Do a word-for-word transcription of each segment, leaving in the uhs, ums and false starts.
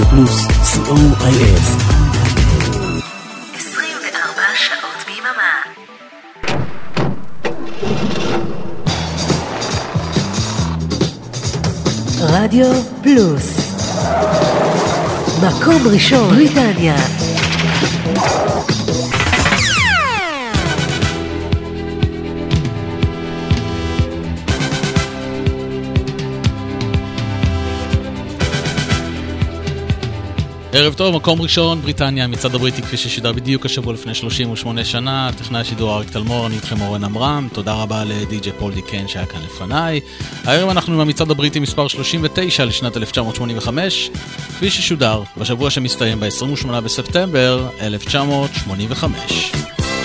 רדיו פלוס, סי או איי אס. עשרים וארבע שעות ביממה. רדיו פלוס, מקום ראשון בריטניה. ערב טוב, מקום ראשון, בריטניה, מצד הבריטי כפי ששידר בדיוק השבוע לפני שלושים ושמונה שנה, טכנאי השידור אריק תלמור, אני איתכם אורן אמרם, תודה רבה לדי-ג'יי פול דיקן שהיה כאן לפניי. הערב אנחנו עם המצעד הבריטי מספר שלושים ותשע לשנת אלף תשע מאות שמונים וחמש, כפי ששודר בשבוע שמסתיים ב-עשרים ושמונה בספטמבר אלף תשע מאות שמונים וחמש.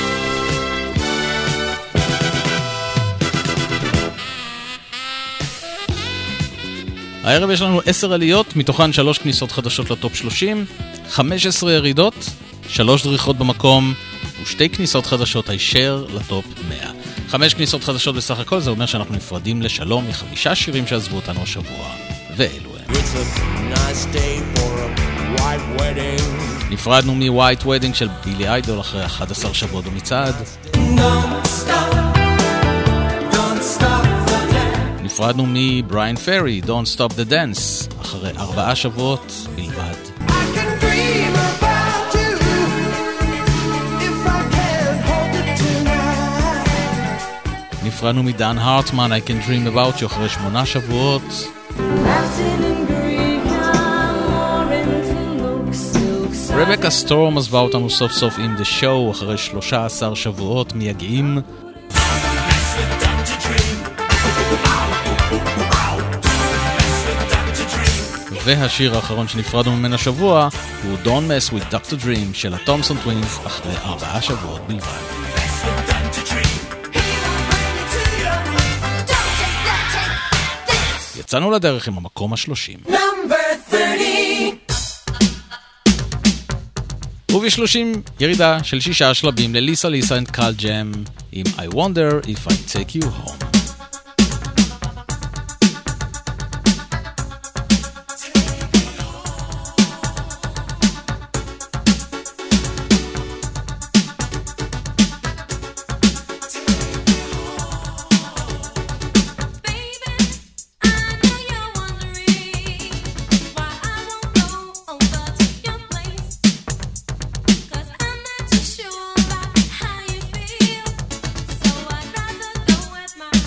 הערב יש לנו עשר עליות, מתוכן שלוש כניסות חדשות לטופ שלושים, חמש עשרה ירידות, שלוש דריכות במקום ושתי כניסות חדשות הישר לטופ מאה. חמש כניסות חדשות בסך הכל, זה אומר שאנחנו נפרדים לשלום מחמישה שירים שעזבו אותנו השבוע, ואלו הם. נפרדנו מ-White Wedding של בילי איידול אחרי אחד עשר שבועות במצעד. נפרדנו מבריין פרי, Don't Stop the Dance, אחרי ארבעה שבועות בלבד. נפרדנו מדן הרטמן, I Can Dream About You, אחרי שמונה שבועות. רבקה סטורם עזבה אותנו סוף סוף עם The Show, אחרי שלושה עשר שבועות מייגעים. והשיר האחרון שנפרדנו ממנו השבוע הוא Don't Mess with Doctor Dream של הטומסון טווינס, אחרי ארבעה שבועות בלבד. יצאנו לדרך עם המקום השלושים. ובשלושים ירידה של שישה שלבים לליסה ליסה and קל ג'ם עם I Wonder If I Take You Home. Sure about how you feel, so I'd rather go with my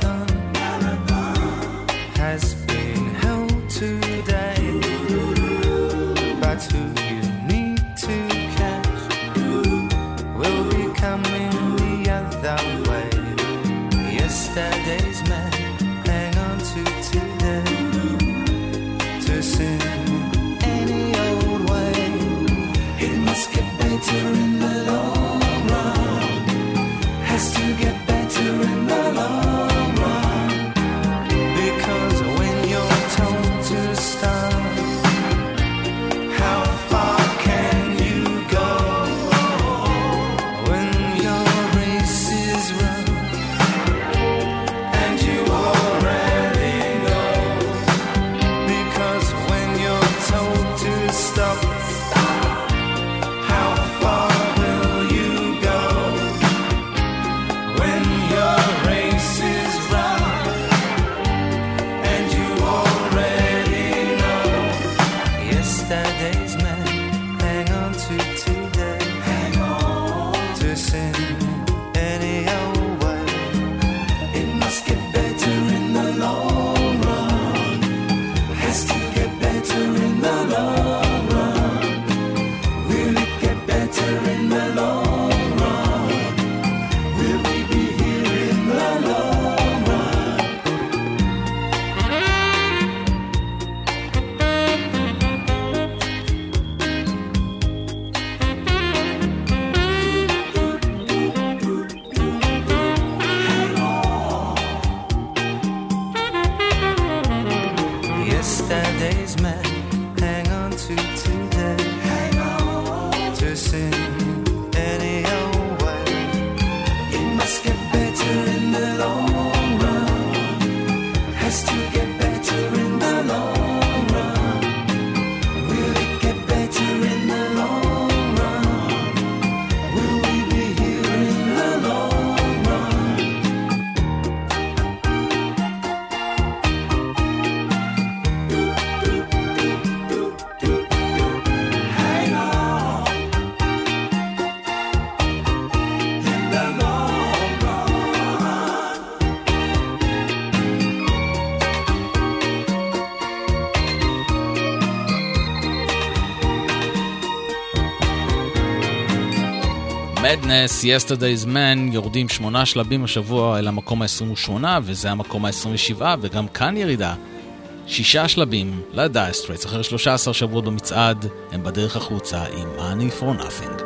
Yesterday's man, hang on to today. To sin any old way, it must get better in the long run. Has to get better in the long run. Because when you're told to stop, how far can you go? When your race is run and you already know. Because when you're told to stop, how far will you go? When your race is run and you already know. Yesterday's man, hang on to today. Hang on to sin any old way. It must get better in the long run. Has to get better in the long run. Will it get better in the long run? Will we be here in the long run? Yesterday's man, hang on to today. Hang on to sin any old way. It must get better in the long run. Has to get better in the long run. Will it get better in the long run? Will we be here in the long run? Hang on in the long run. מדנס, Yesterday's Man, יורדים שמונה שלבים השבוע אל המקום ה-עשרים ושמונה, וזה המקום ה-עשרים ושבע, וגם כאן ירידה. שישה שלבים ל-Dire Straits, אחרי שלושה עשר שבועות במצעד, הם בדרך החוצה עם Money for Nothing.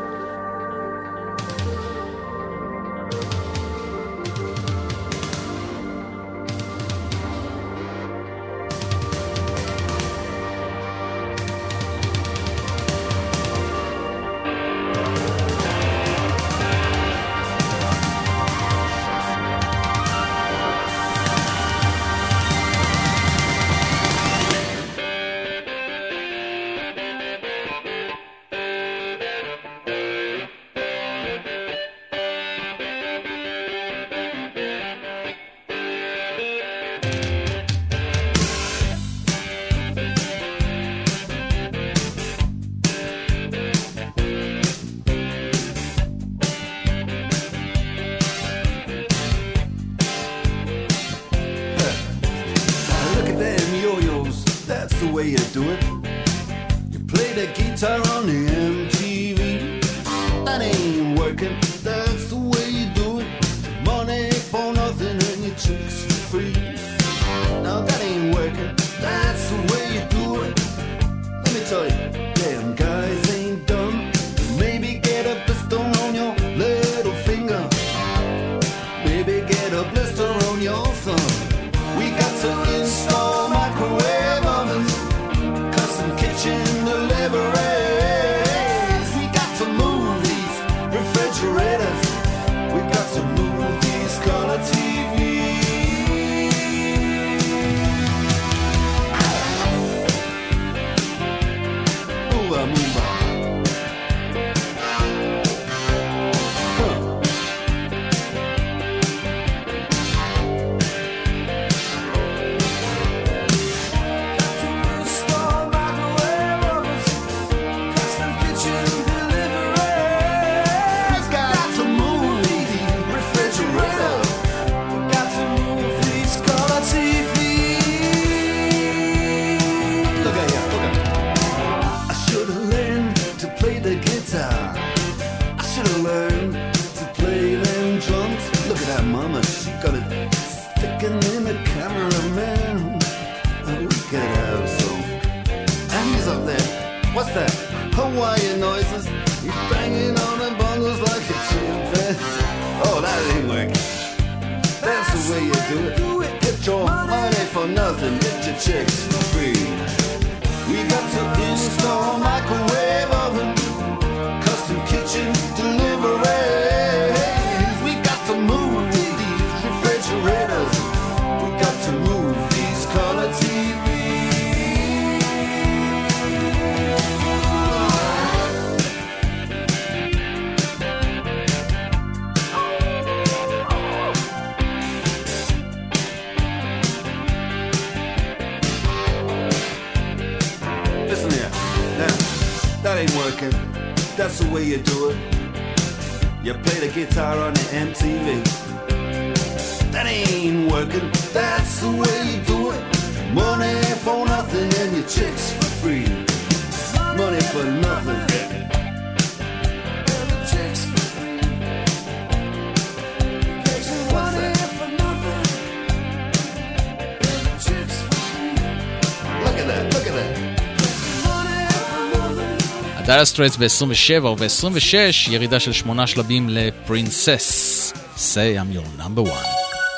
way you do it. You play the guitar on the M T V. That ain't working, that's the way you do it. Money for nothing and your chicks for free. Now that ain't working, that's the way you do it. Let me tell you, damn guys ain't dumb. Maybe get a blister on your little finger. Maybe get a blister on your thumb. We got to install microwave ovens, custom kitchen deliveries. We got to move these refrigerators. that? Hawaiian noises. He's banging on the bongos like a chimpanzee. Oh, that ain't working. That's the way you do it. Get your money for nothing, get your chicks for free. We got to install a microwave oven, custom kitchen deliveries. We got to move these refrigerators. We got to move these color T Vs. Listen here, now, that ain't working. That's the way you do it. You play the guitar on the M T V. That ain't working. That's the way you do it. Money for nothing and your chicks for free. Money for nothing. And your chicks for free. What's that? For nothing. And your chicks for free. Look at that, look at that. הדאלה סטרייטס ב-עשרים ושבע וב-עשרים ושש ירידה של שמונה שלבים לפרינסס. Say I'm your number one.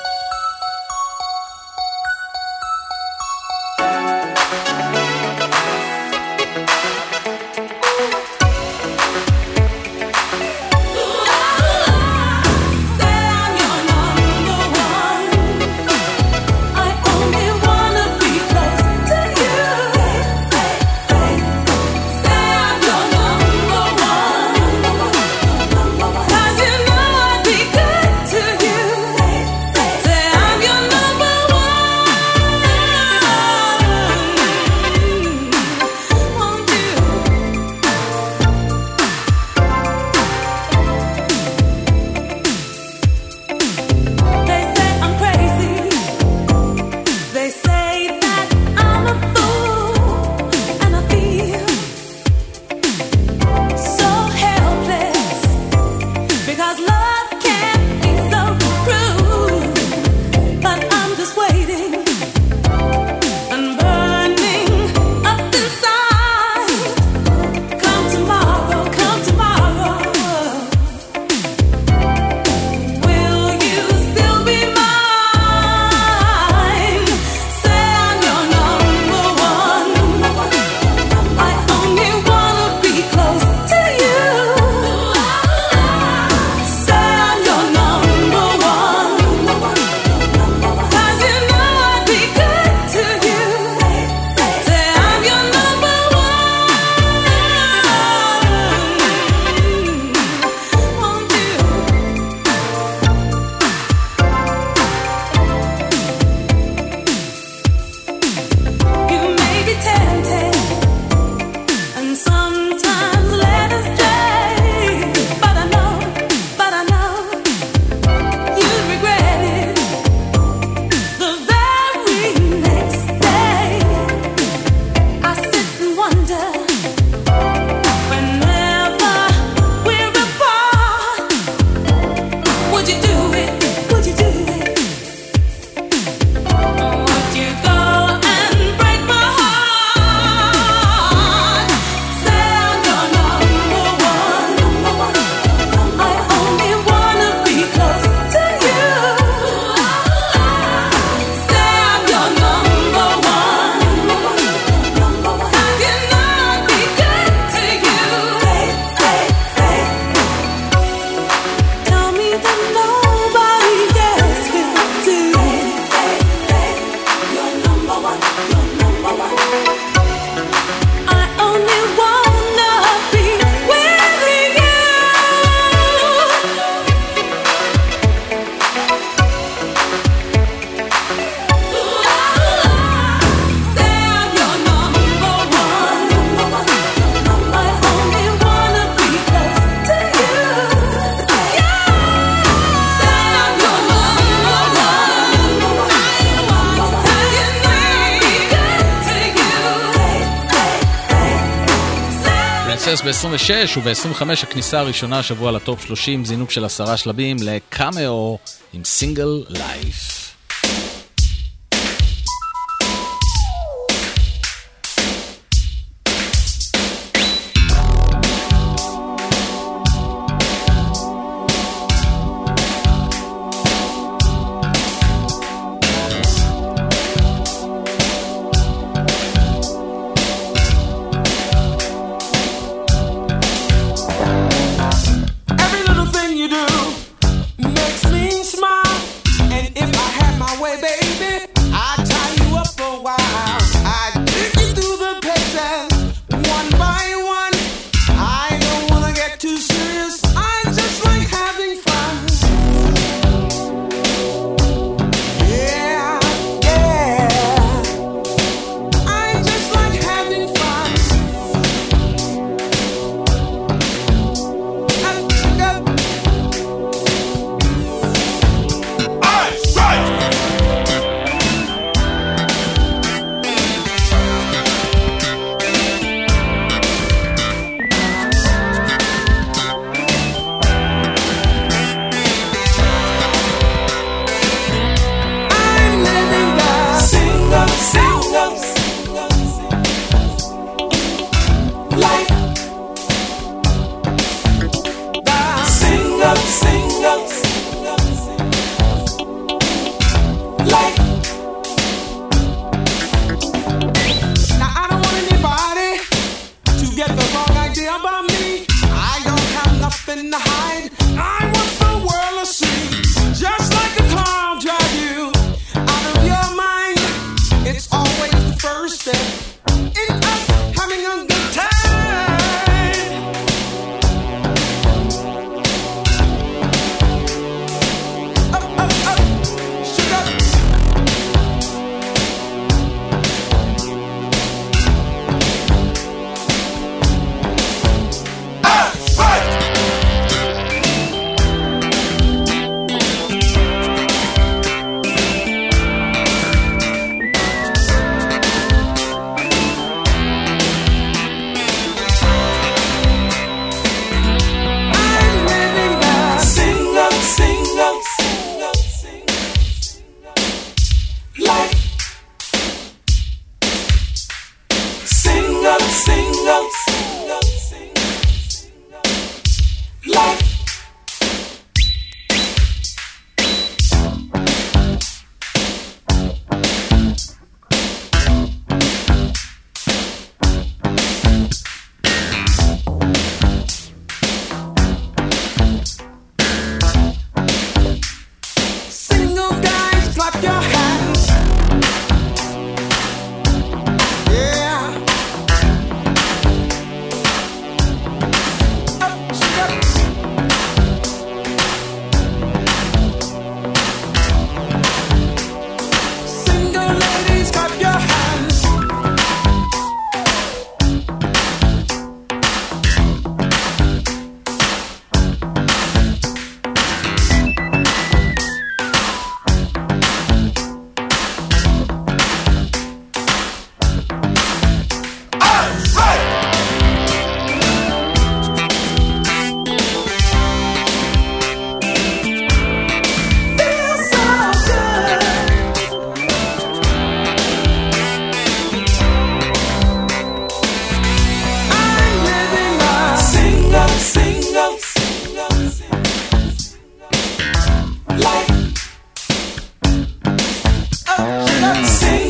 ב-עשרים ושש וב-עשרים וחמש הכניסה הראשונה השבוע לטופ שלושים, זינוק של עשרה שלבים לקאמאו עם סינגל לייף.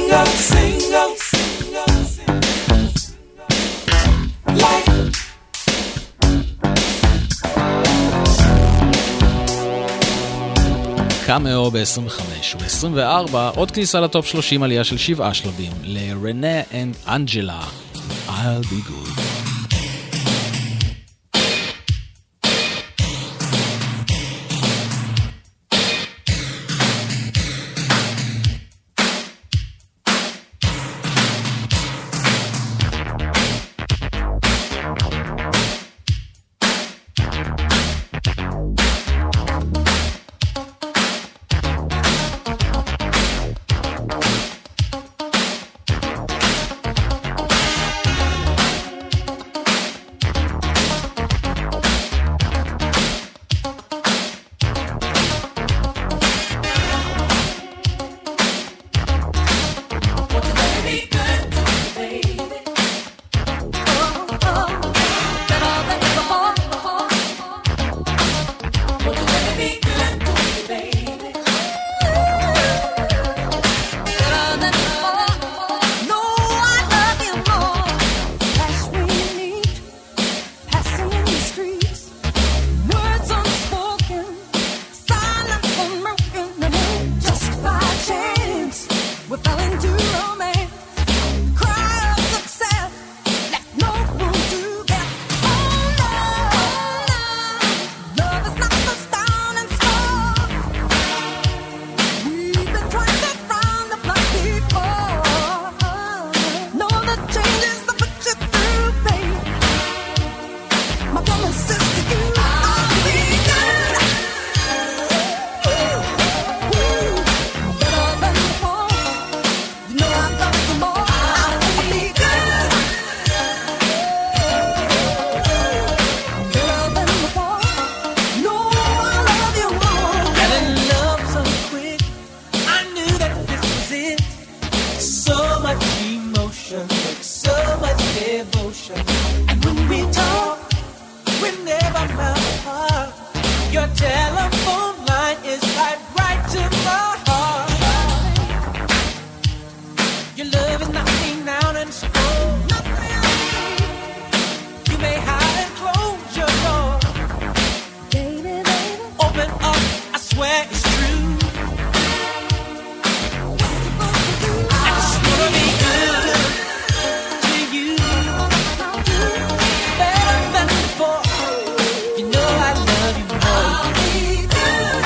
single, single, single, single, life. קאמאו ב-עשרים וחמש וב-עשרים וארבע עוד כניסה לטופ שלושים, עלייה של שבעה שלבים לרנה אנד אנג'לה, I'll be good. Better than before, you know I love you more.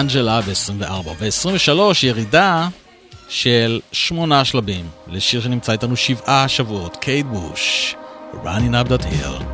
אנג'לה ב-עשרים וארבע. ב-עשרים ושלוש ירידה של שמונה שלבים לשיר שנמצא איתנו שבעה שבועות, קייט בוש, Running Up That Hill.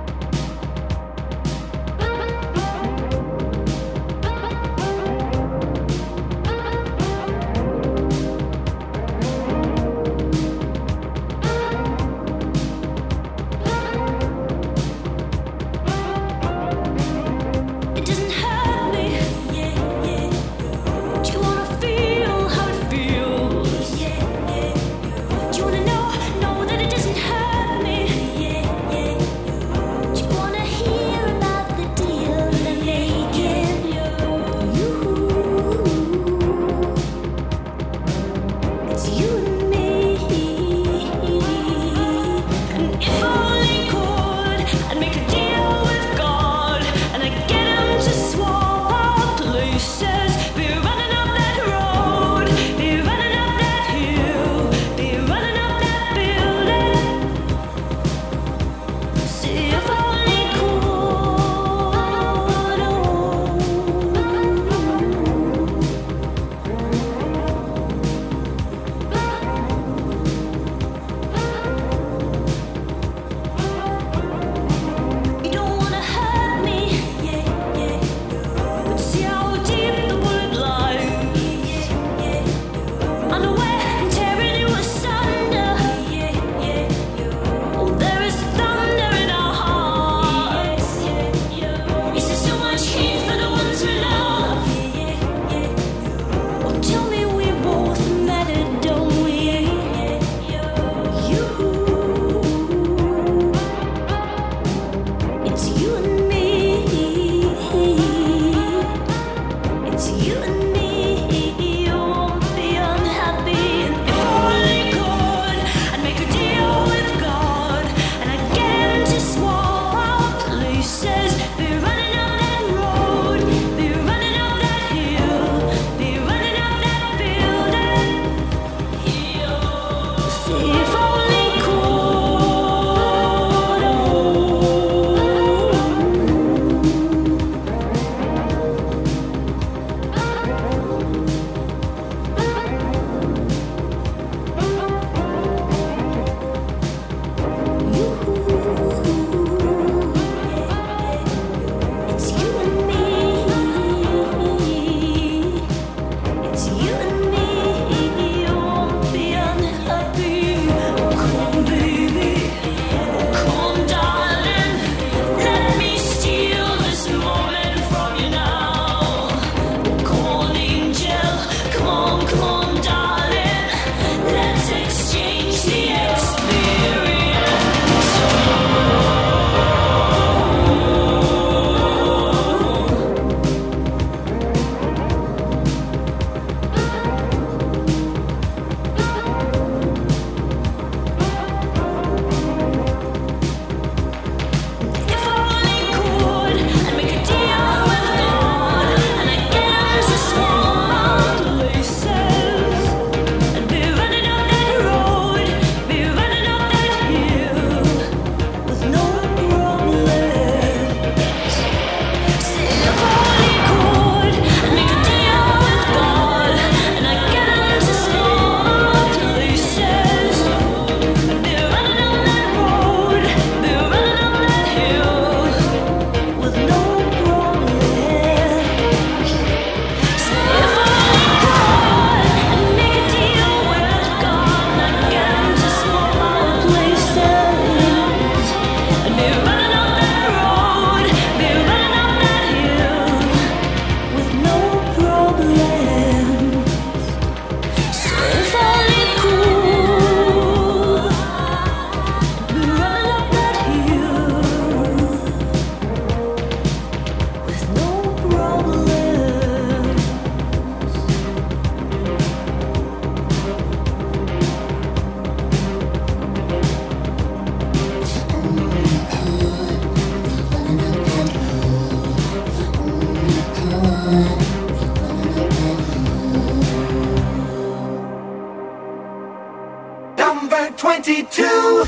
twenty-two.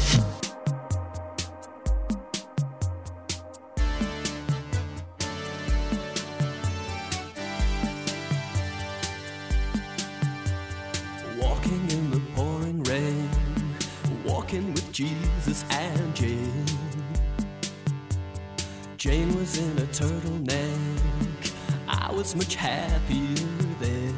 Jesus and Jane. Jane was in a turtleneck. I was much happier then.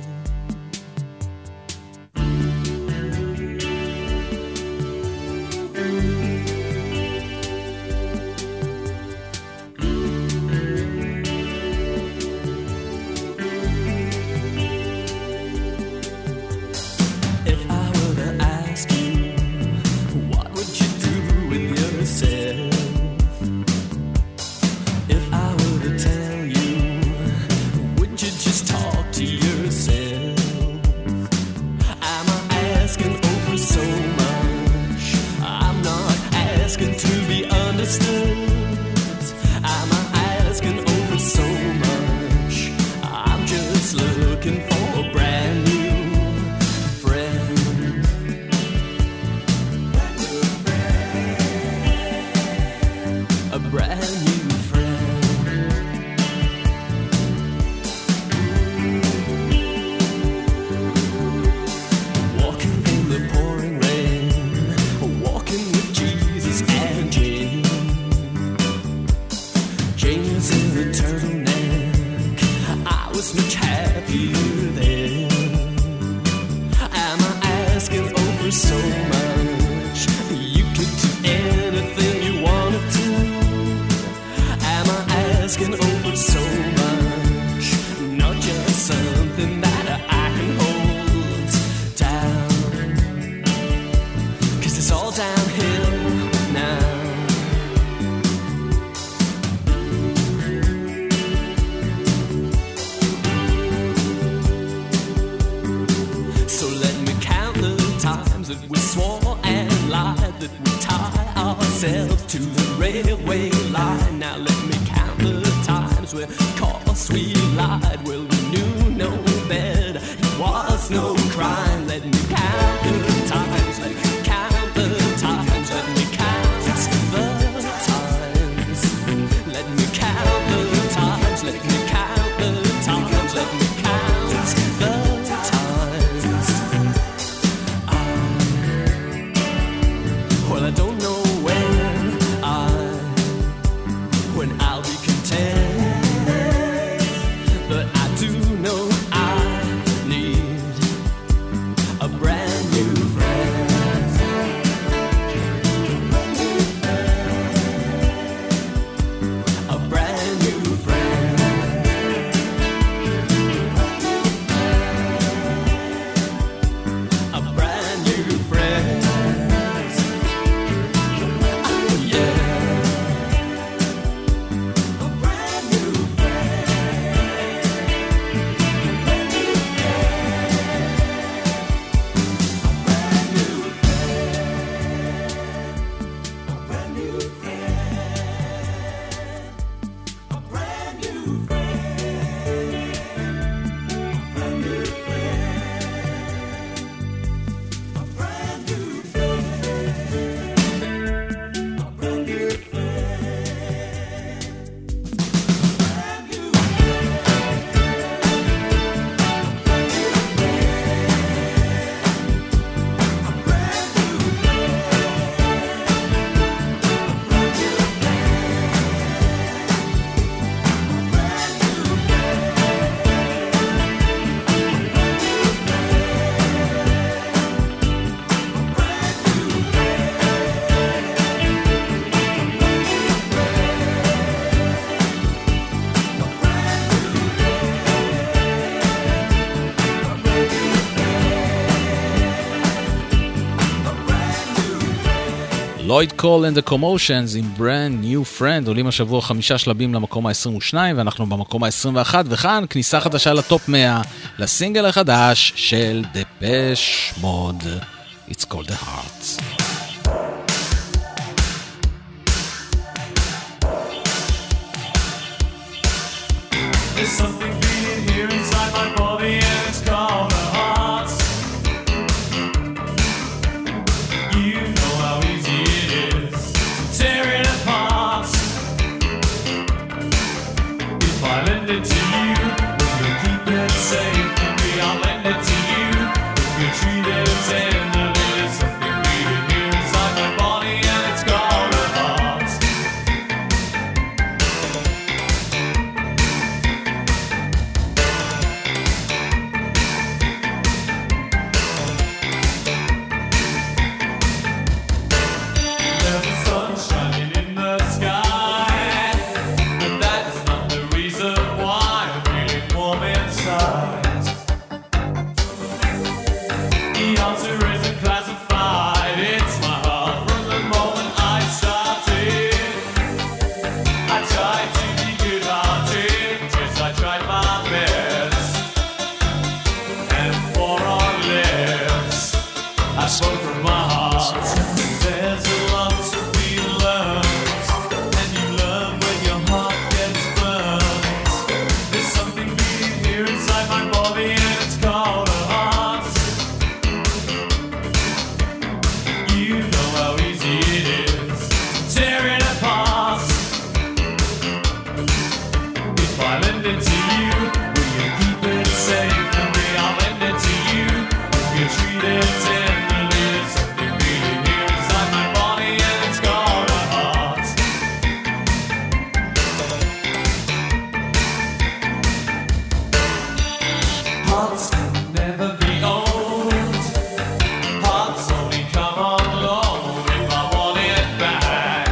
לויד קול and the Commotions עם Brand New Friend עולים השבוע חמישה שלבים למקום ה-עשרים ושתיים ואנחנו במקום ה-עשרים ואחת וכאן כניסה חדשה לטופ מאה לסינגל החדש של Depeche Mode It's Called the Heart. There's something beating here inside my body and it's called the heart. You know how easy it is to tear it apart. If I lend it to you, will you keep it safe for me? I'll lend it to you. If you treat it tenderly, there's something beating here inside my body. Hearts can never be old. Hearts only come on loan. If I want it back,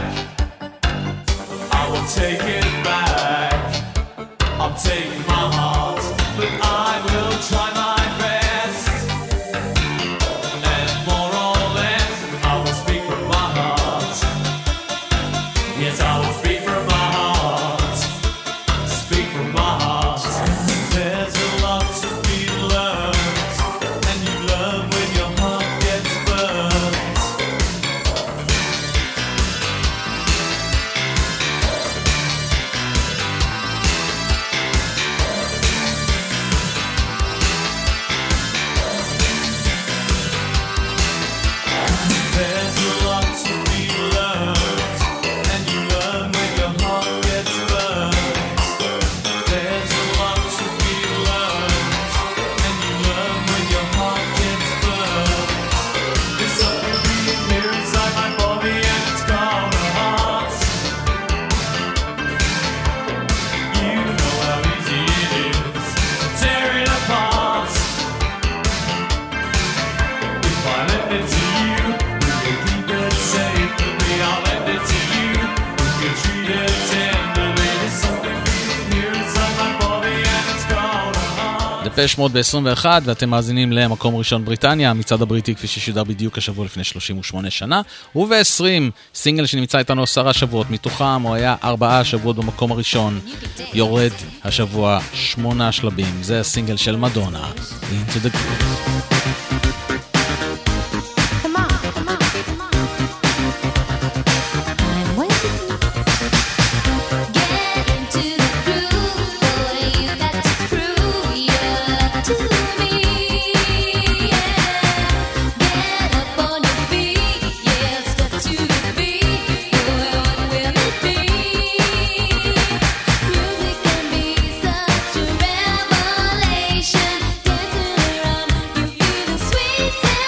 I will take it back. I'll take my heart, but I will try my best. And more or less, I will speak from my heart. Yes, I will speak from my heart. Speak from my heart. There's a lot to be learned, and you learn when your heart gets burned. There's a lot to be learned, and you learn when your heart gets burned. There's a lot to be learned, and you learn when your heart gets burned. There's something beating here inside my body, and it's called a heart. You know how easy it is to tear it apart. If I lend it to you, will you keep it safe for me? I'll lend it to you, if you treat it tenderly. There's something beating here inside my body, and it's called a heart. דפש מוד ב-עשרים ואחת, ואתם מאזינים למקום ראשון בריטניה, המצעד הבריטי כפי ששודר בדיוק השבוע לפני שלושים ושמונה שנה, וב-עשרים סינגל שנמצא איתנו עשרה שבועות, מתוכם הוא היה ארבעה שבועות במקום הראשון, יורד השבוע שמונה שלבים, זה הסינגל של מדונה, Into the Groove. Come on, come on, come on. I'm waiting. Get into the groove, boy. You got to prove your love to me. Yeah. Get up on your feet, yeah. Step to the beat, boy. What will it be? Music can be such a revelation. Dancing around, you feel the sweet sensation.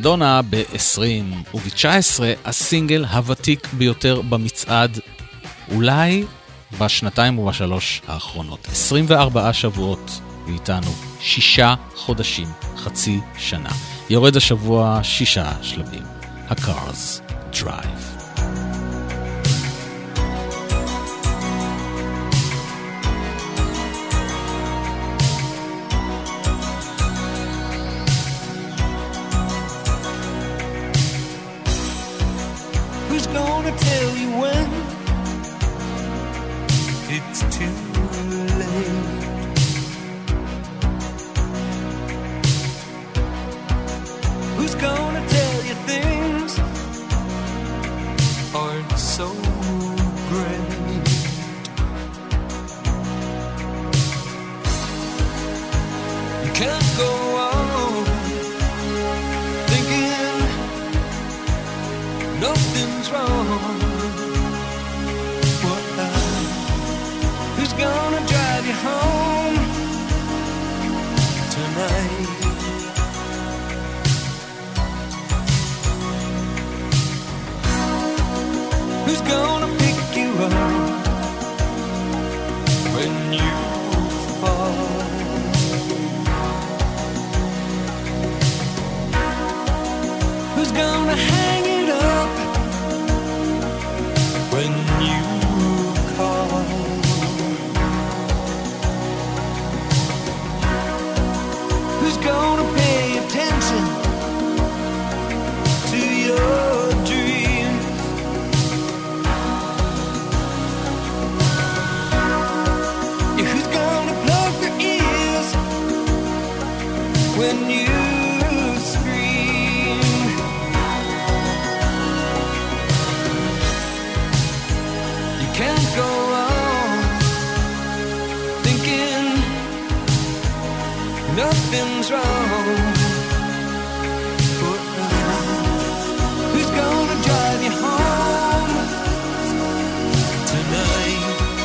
מדונה ב-עשרים וב-תשע עשרה הסינגל הוותיק ביותר במצעד, אולי בשנתיים ובשלוש האחרונות. עשרים וארבעה שבועות ואיתנו שישה חודשים, חצי שנה. יורד השבוע שישה שלבים. ה-Cars Drive. Who's gonna tell you when it's too late? Who's gonna tell you things aren't so great? You can't go on thinking nothing's wrong. What uh, who's gonna drive you home tonight? Who's gonna pick you up when you fall? Who's gonna hang it up when you call? Who's gonna pay attention to your dreams? Yeah, who's gonna plug their ears when you scream? You can't go on thinking nothing's wrong. But, uh, who's gonna drive you home tonight?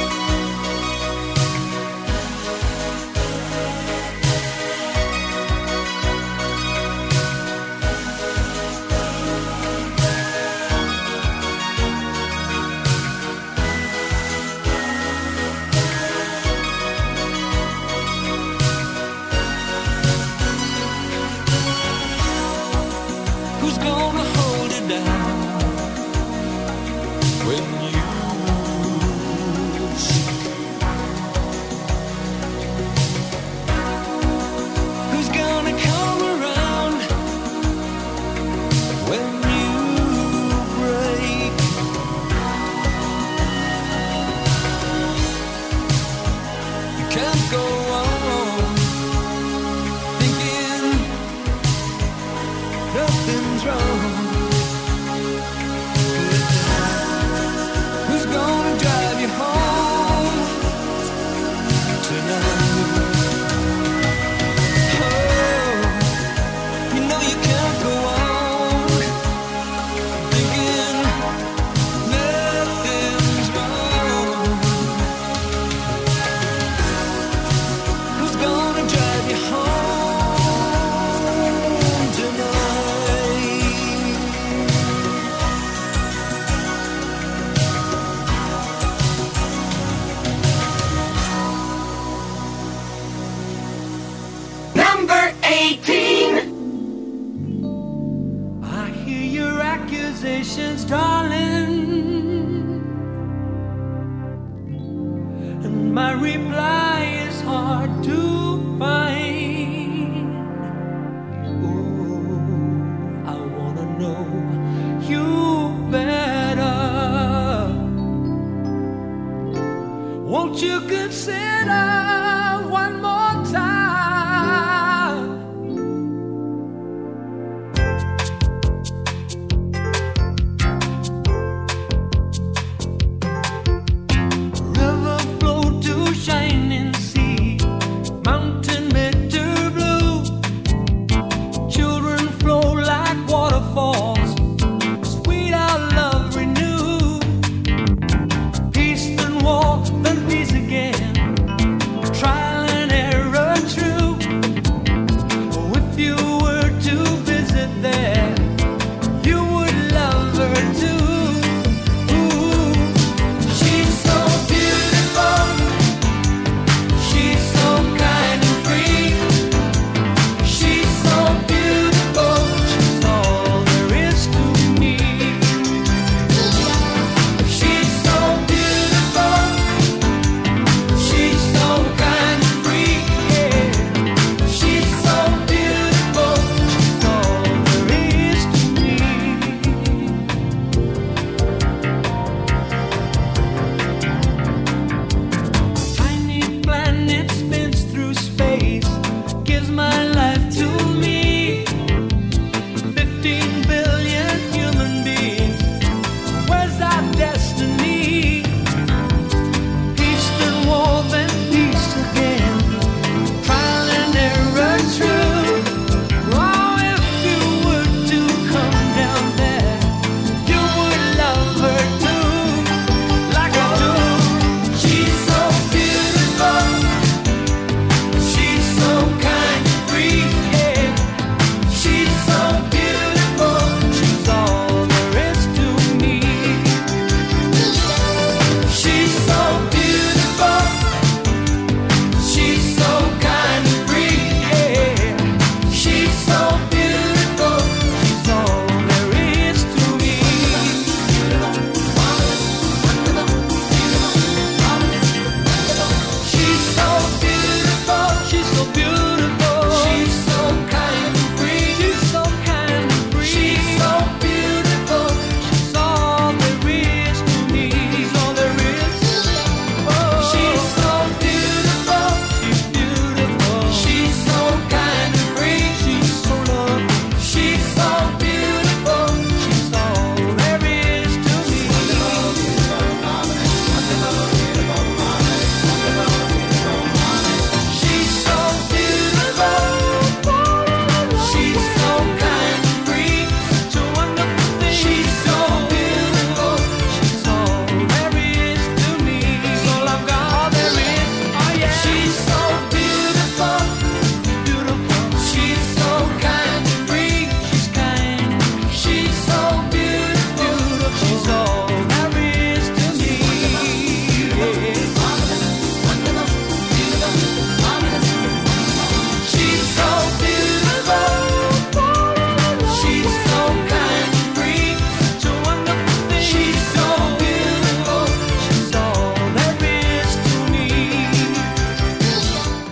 Who's gonna hold it down when you speak? Who's gonna come around when you break? You can't go on thinking nothing's wrong. Who's gonna drive you home tonight? Oh, you know you can't go on thinking nothing's wrong. Who's gonna drive you home tonight? Number eighteen. I hear your accusations, darling, and my reply is hard to find. Oh, I wanna know you better. Won't you consider one more time? River flow to shining sea, mountain bitter blue. Children flow like waterfalls, sweet our love renew. Peace then war, then peace again.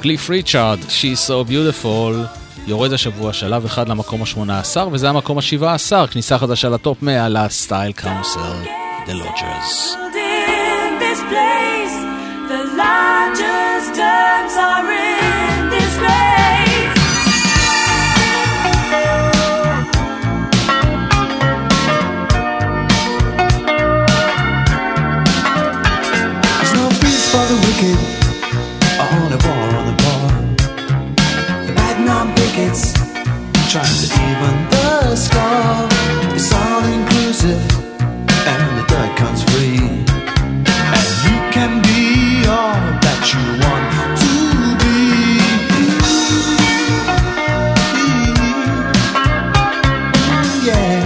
קליף ריצ'ארד, She's So Beautiful, יורד השבוע שלב אחד למקום ה-שמונה עשר, וזה המקום ה-שבע עשר, כניסה חדשה לטופ מאה לסטייל קאונסל, The Lodgers. In this place, the largest terms are in disgrace. There's no peace for the wicked, on a bar, on the bar. The bad non-pickets, trying to even the score. It's all inclusive, and the dirt comes free. And you can be all that you want to be. Yeah.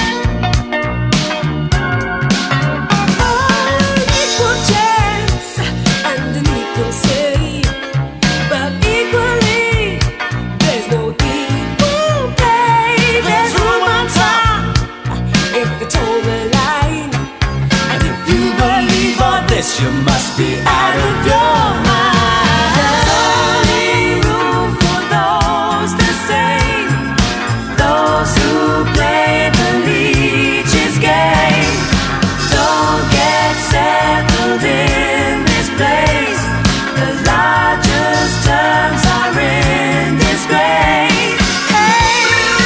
An equal chance and an equal say, but equally there's no equal pay. There's room on top if it's all the line. And if you believe all this, you must be out of your mind. There's only room for those the same, those who play the leech's game. Don't get settled in this place. The largest terms are in disgrace. Hey.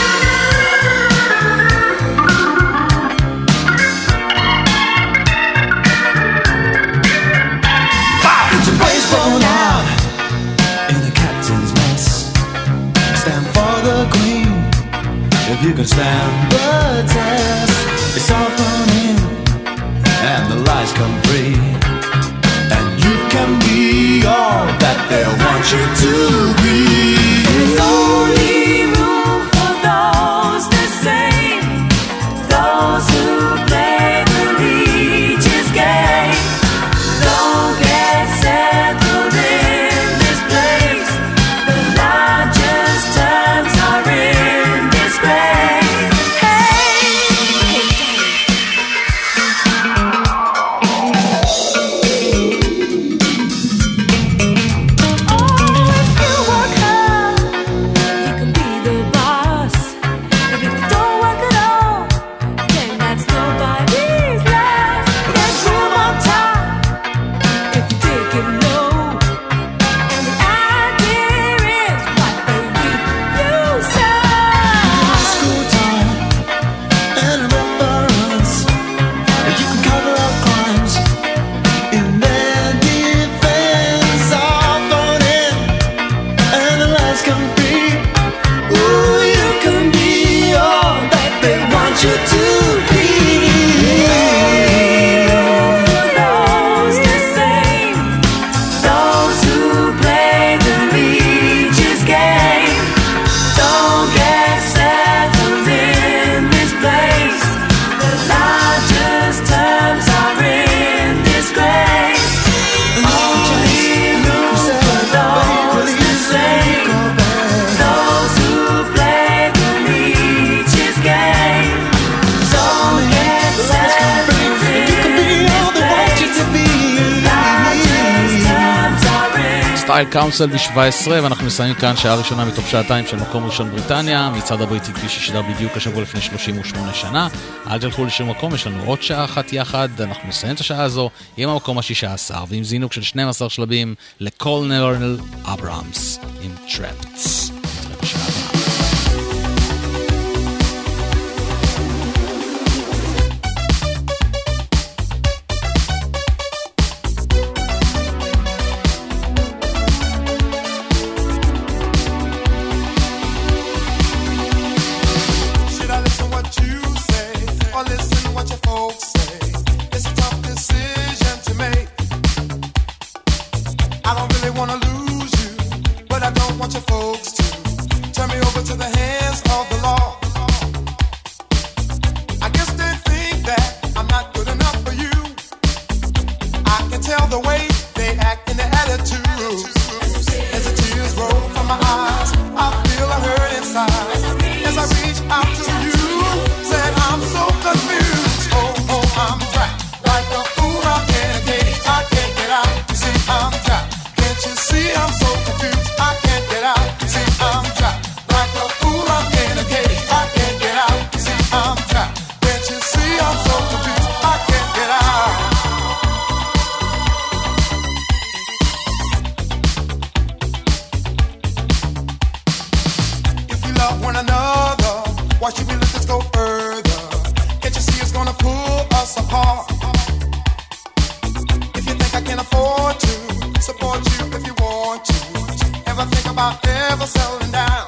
Get your brains blown out in the captain's mess. Stand for the queen if you can stand the test. It's all thrown in and the lies come free. And you can be all that they want you to be. There's only room for those the same, those who play the leech's game. Don't get settled in this place. The largest terms are in disgrace. Hey, hey, oh, if you work hard, you can be the boss. But if you don't work at all, then that's nobody's loss. There's room on top if you take it low. And the idea is what they reap, you sow. School time and reference. You can cover up crimes in their defense. All thrown in and the lies come free. Ooh, you can be all that they want you to be. For those the same, those who play the leech's game. Don't get settled in this place. The largest terms are in disgrace. Only room for those the same, those who play the leech's game. Don't get settled in You can be all they want you to be. largest terms are in. סטייל קאונסל ב-שבע עשרה, ואנחנו מסיימים כאן שעה ראשונה מתוך שעתיים של מקום ראשון בריטניה, מצד הבריטי כפי ששידר בדיוק השבוע לפני שלושים ושמונה שנה. אל תלכו לשום מקום, יש לנו עוד שעה אחת יחד, אנחנו נסיים את השעה הזו עם המקום ה-שישה עשר, ועם זינוק של שנים עשר שלבים לקולנל אברהמס עם טראפטס. נתראה בשעה הבאה. Should I listen what you say or listen what your folks say? It's a tough decision to make. I don't really want to lose you, but I don't want your folks to turn me over to the hands of the law. I guess they think that I'm not good enough for you. I can tell the way they act in their attitudes. As the tears roll from my eyes, I feel a hurt inside. As I reach out to you, said I'm so confused. Oh, oh, I'm trapped like a fool out in a cage. I can't get out. You see, I'm trapped. Can't you see I'm so confused? one another. Why should we let this go further? Can't you see it's gonna pull us apart? If you think I can afford to support you if you want to, ever think about ever settling down?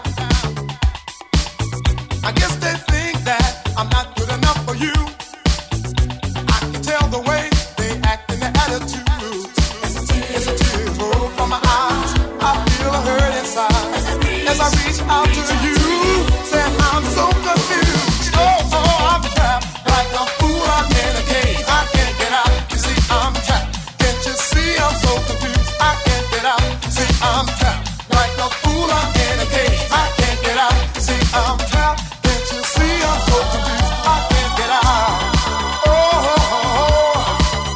I guess they think that I'm not good enough for you. I can tell the way they act and their attitudes. As the tears roll from my eyes, I feel a hurt inside. As I reach out to you, say I'm so confused. Oh, oh, I'm trapped like a fool. I'm in a cage. I can't get out. You see, I'm trapped. Can't you see I'm so confused? I can't get out. See, I'm trapped like a fool. I'm in a cage. I can't get out. See, I'm trapped. Can't you see I'm so confused? I can't get out. Oh, oh, oh, oh.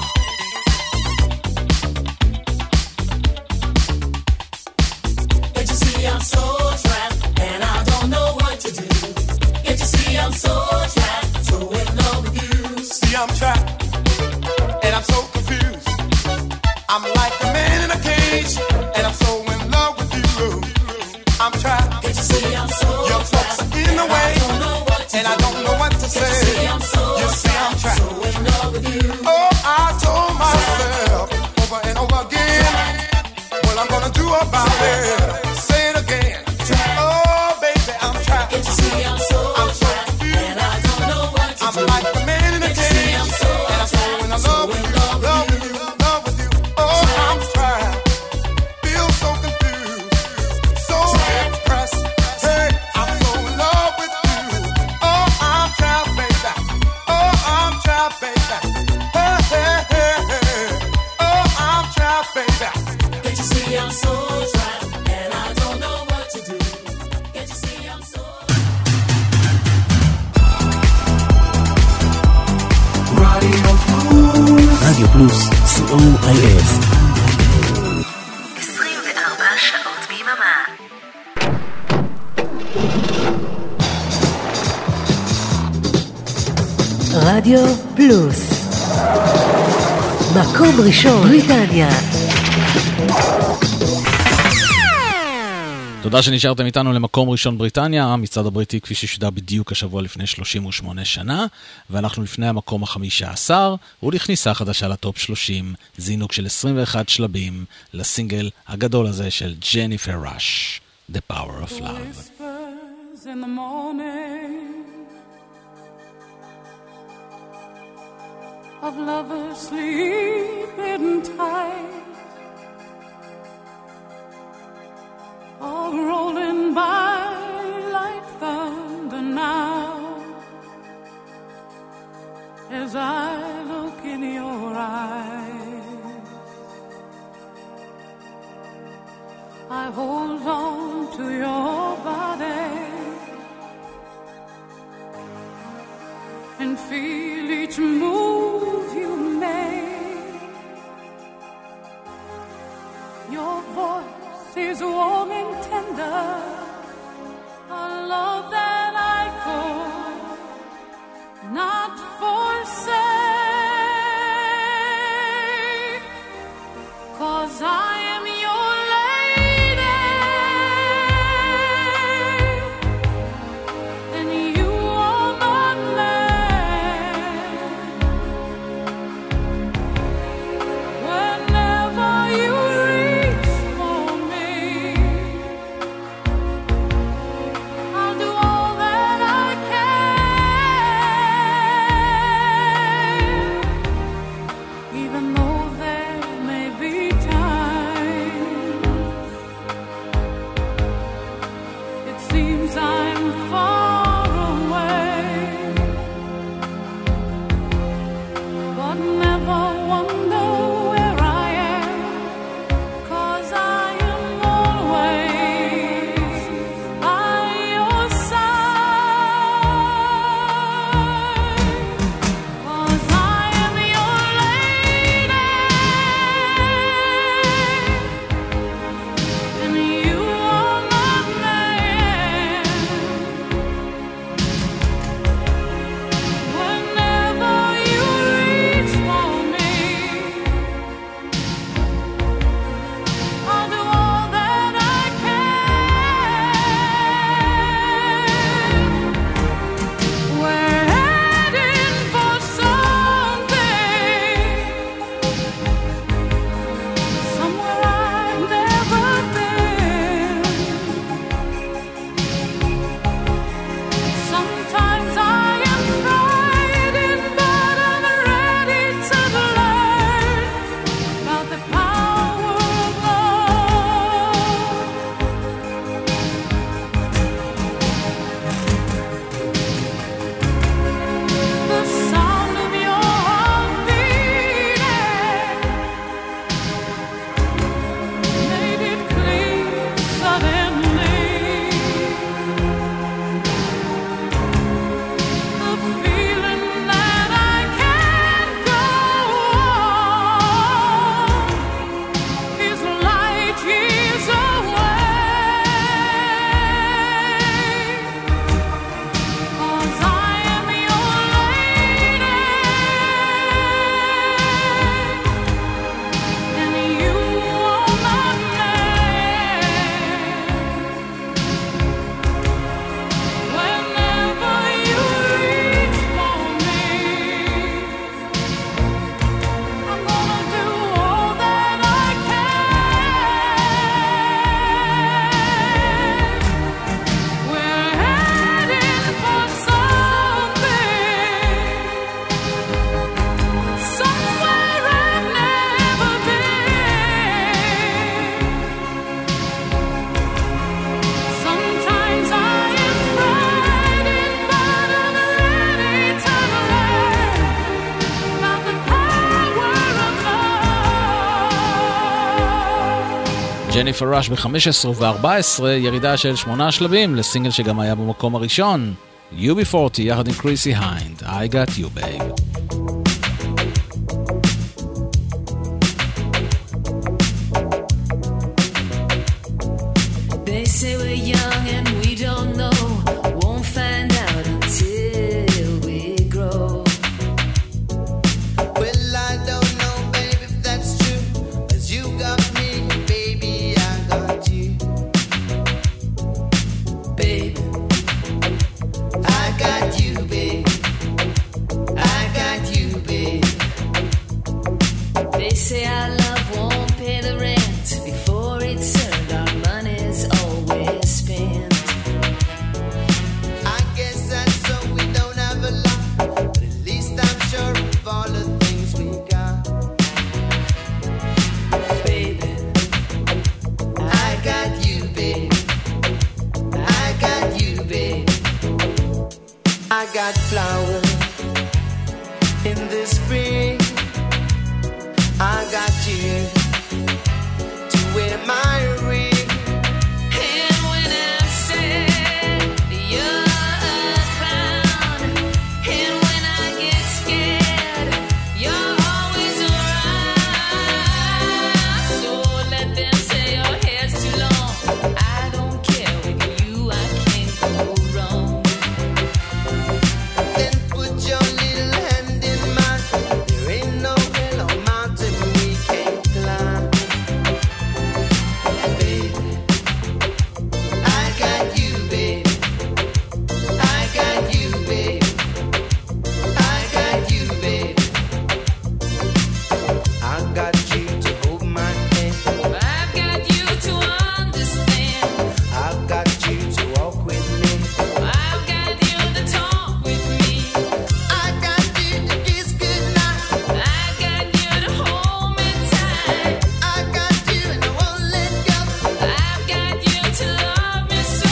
Can't you see I'm so trapped and I don't know what to do? Can't you see I'm so trapped, so in love with you? See, I'm trapped and I'm so confused. I'm like a man in a cage and I'm so in love with you. I'm trapped. Can't you see I'm so Your folks are in the way and I don't know what to say. Can't you see I'm so You see, I'm trapped. so in love with you? Oh, I told myself over and over again what I'm gonna do about it. Say it again. Oh, baby, I'm trapped. Can't you see I'm so I'm so trapped confused. and I don't know what to I'm do? like the man in a Can't you see cage I'm so and I'm so in love with you, love with you, love with you. Oh, I'm trapped. Feel so confused, so depressed. Hey, I'm so in love with you. Oh, I'm trapped, baby. Oh, I'm trapped, baby. Hey, hey, hey, hey. Oh, I'm trapped, baby. Can't you see I'm so trapped and I don't know what to do? Can't you see I'm so רדיו פלוס, סי או איי אס. עשרים וארבע שעות ביממה. רדיו פלוס. מקום ראשון, בריטניה. תודה שנשארתם איתנו למקום ראשון בריטניה, המצעד הבריטי כפי ששודר בדיוק השבוע לפני שלושים ושמונה שנה, ואנחנו לפני המקום החמישה עשר, ולכניסה חדשה לטופ שלושים, זינוק של עשרים ואחד שלבים, לסינגל הגדול הזה של ג'ניפר ראש, The Power of Love. Whispers in the morning of lovers sleeping tight, all rolling by like thunder now, as I look in your eyes. I hold on to your body and feel each move you make. Your voice is warm and tender, a love that I could not forsake, 'cause I am your lady and you are my man. Whenever you reach for me, I'll do all that I can, even though there may be times it seems I'm far away, but never wonder where I am, 'cause I am always by your side, 'cause I am your lady and you are my man. ג'ניפר ראש ב-חמש עשרה ו-ארבע עשרה, ירידה של שמונה שלבים לסינגל שגם היה במקום הראשון, יו בי ארבעים יחד עם קריסי היינד, I got you babe. They say we're young and we don't know, won't find out until we grow. Well, I don't know, baby, if that's true, 'cause you got me, baby, I got you. Babe, I got you, babe. I got you, babe. they say our love won't pay the rent before it's earned, our money's always spent. I guess that's so we don't have a lot, but at least I'm sure of all the things we got. Baby, I got you, babe. I got you, babe. I got flowers in the spring. I got you to wear my ring. and when I'm sad, you're a clown, and when I get scared, you're always around. So let them say your hair's too long, I don't care, with you I can't go wrong. Then put your little hand in mine. There ain't no hill or mountain we can't climb. Baby, I got you, babe. I got you, babe. I got you, babe. I got you to hold my hand. I've got you to understand, I've got you to walk with me. I've got you to talk with me, I got you to kiss goodnight. I've got you to hold me tight, I got you and I won't let go. I've got you to love me so.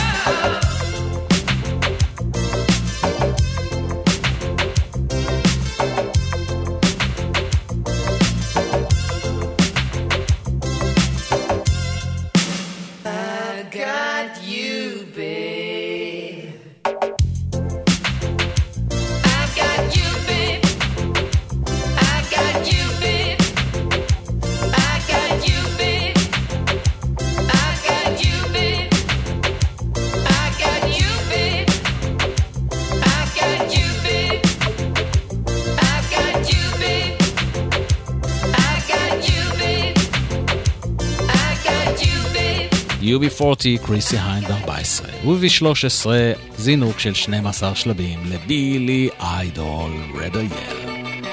I got you, babe. I got you, babe. I got you, babe. I got you, babe. I got you, babe. I got you, babe. I got you, babe. I got you, babe. I got you, babe. I got you, babe. יו בי ארבעים, קריסי היינד ארבע עשרה, וב-שלוש עשרה זינוק של שנים עשר שלבים לבילי איידול רדייל.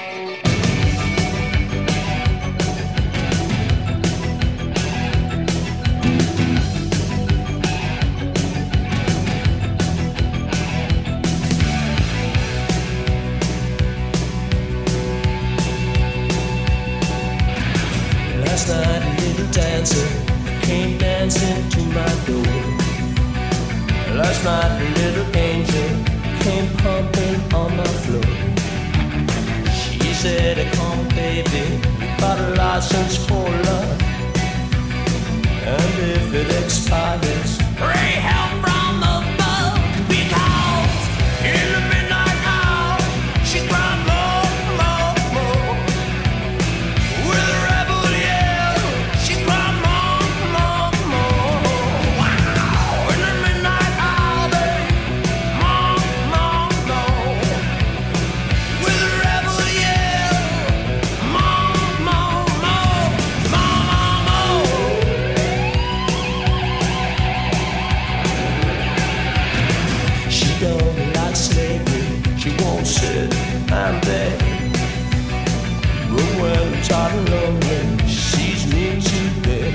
Last night a little dancer came dancing to my door. Last night a little angel came pumping on my floor. She said, come baby, got a license for love, and if it expires, pray help from above. Because in the midnight hour she cried more, more, more. With a rebel yell, she cried more, more, more. Wow! In the midnight hour, babe, more, more, more. With a rebel yell, more, more, more, more, more, more. She don't like slavery, she won't sit and beg. But when I'm tired and lonely, she sees me today.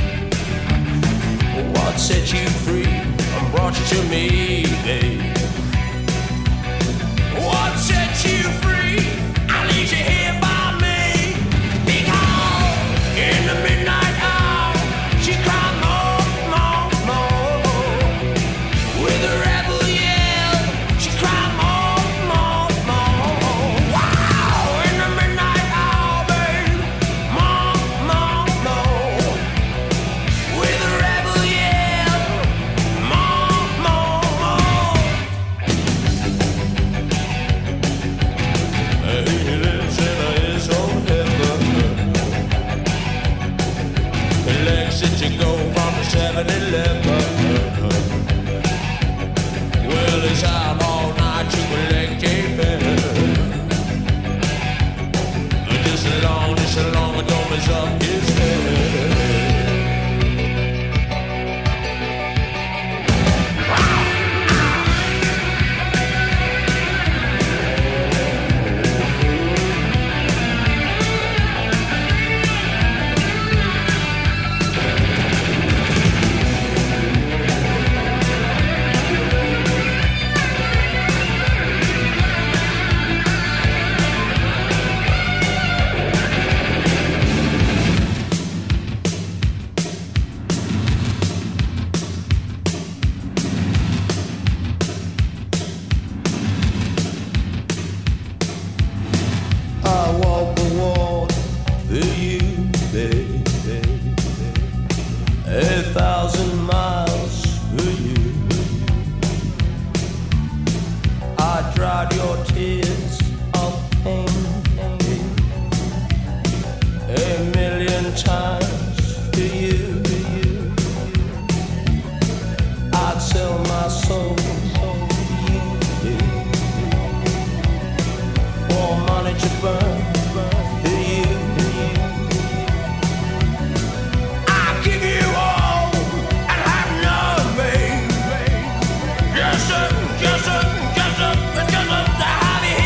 What set you free and brought you to me, babe? What set you free? I leave you here by me. Because in the midnight hour, she cried more, more, more. With a rebel yell, she cried more, more, more. Wow! In the midnight hour, babe, more, more, more. dried your tears of pain a million times to you. I'd sell my soul to you for money to burn to you. I'll give you all and have nothing. Just a, just a, just a, just a, to have you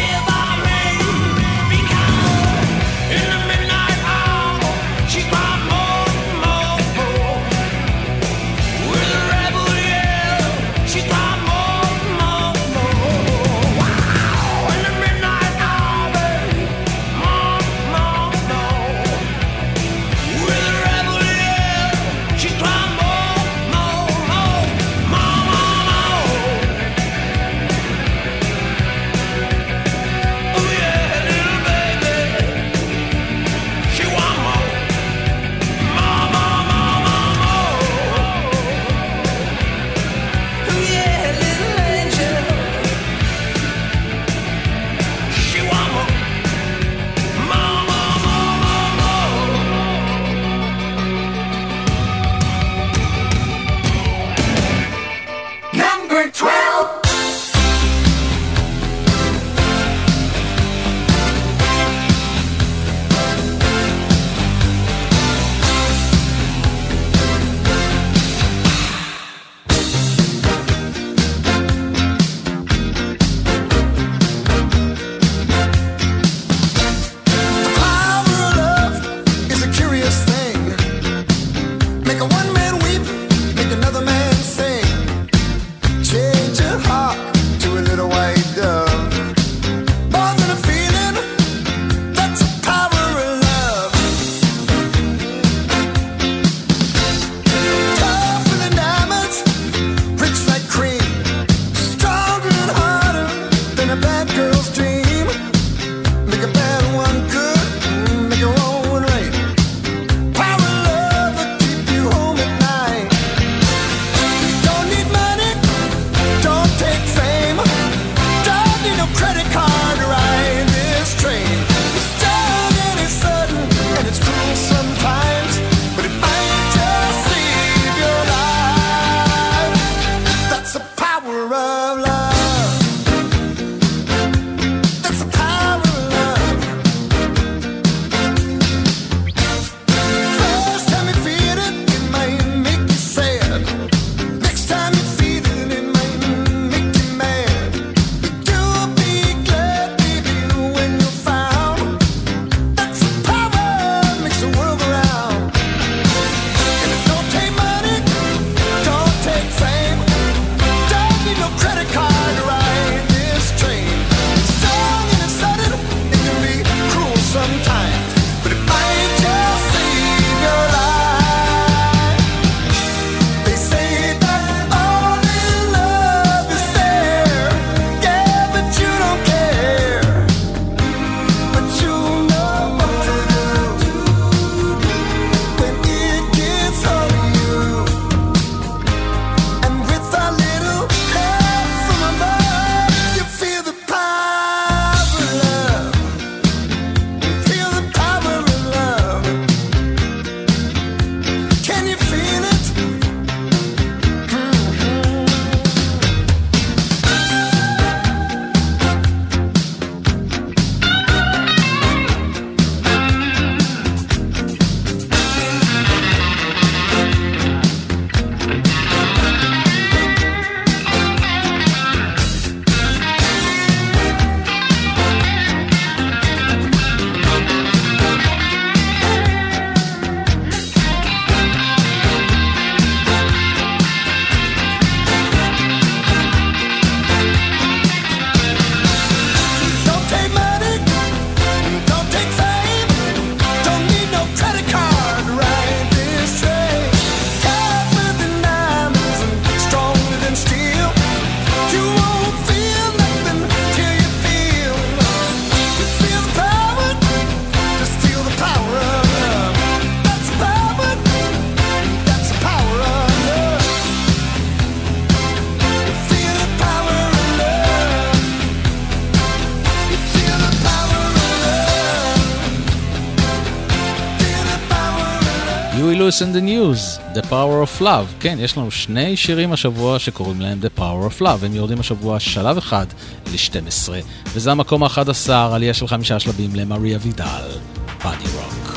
Lewis and the News, The Power of Love. כן, יש לנו שני שירים השבוע שקוראים להם The Power of Love. הם יורדים השבוע שלב אחד ל-שתים עשרה, וזה המקום ה-אחד עשר, עלייה של חמישה שלבים למריה וידל, Body Rock.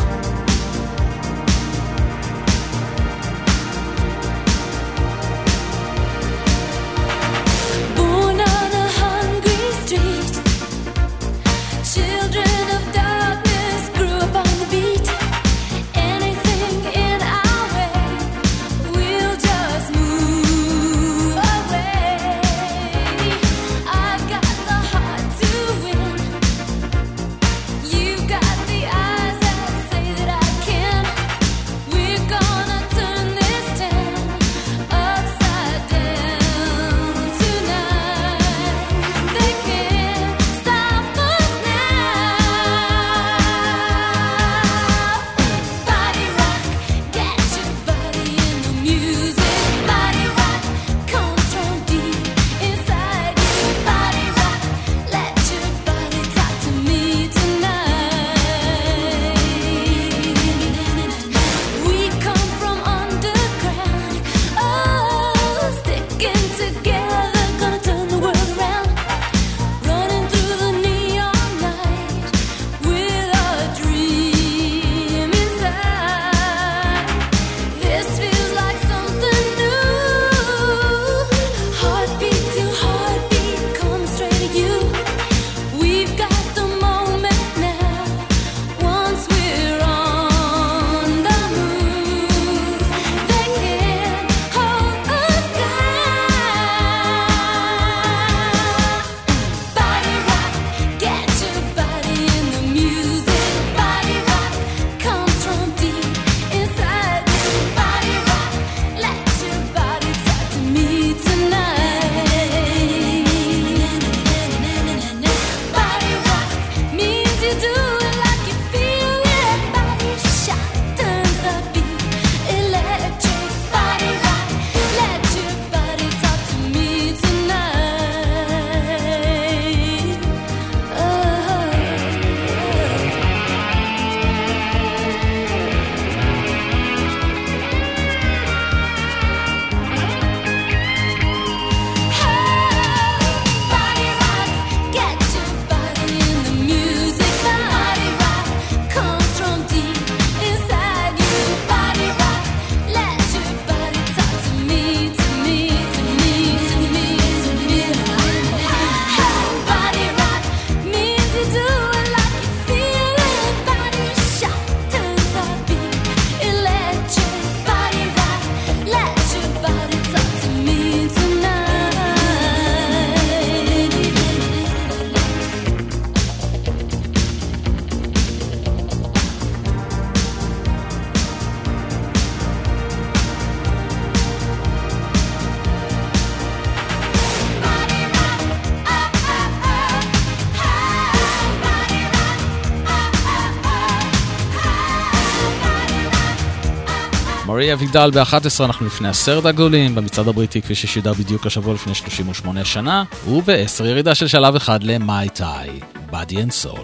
מריה וידל ב-אחת עשרה, אנחנו לפני עשרת הגדולים במצעד הבריטי כפי ששידר בדיוק השבוע לפני שלושים ושמונה שנה, וב-עשר ירידה של שלב אחד ל-My Tai, Body and Soul.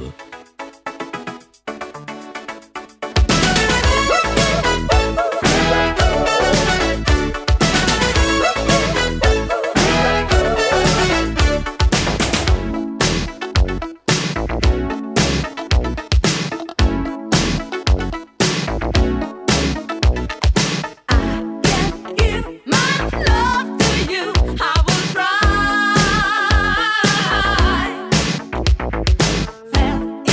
Felt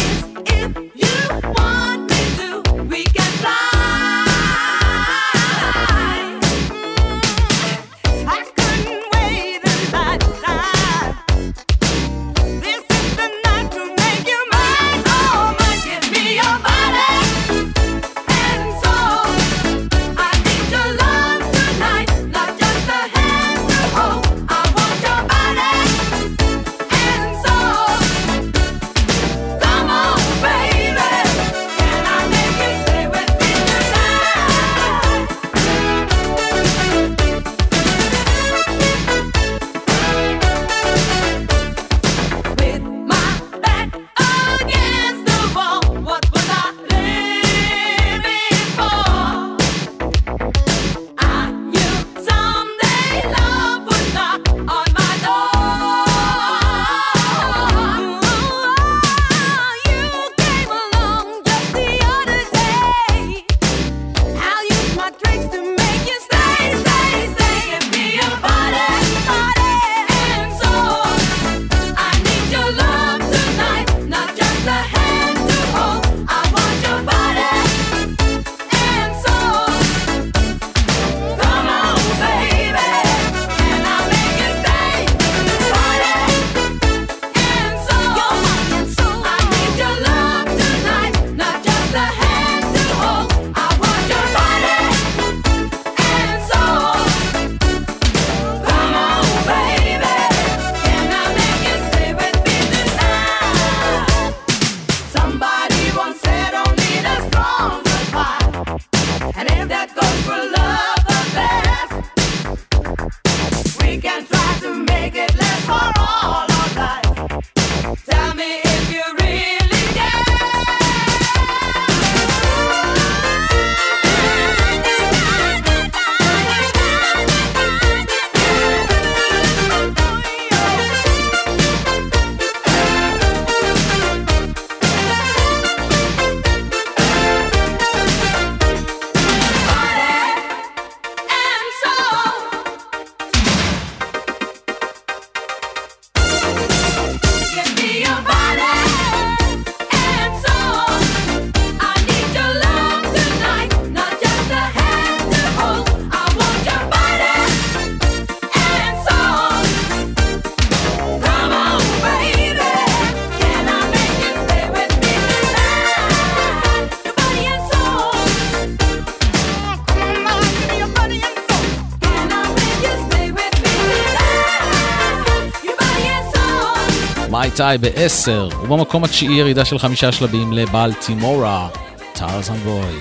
מייטאי בעשר, ובמקום התשיעי ירידה של חמישה שלבים לבלטימורה, טרזן בוי.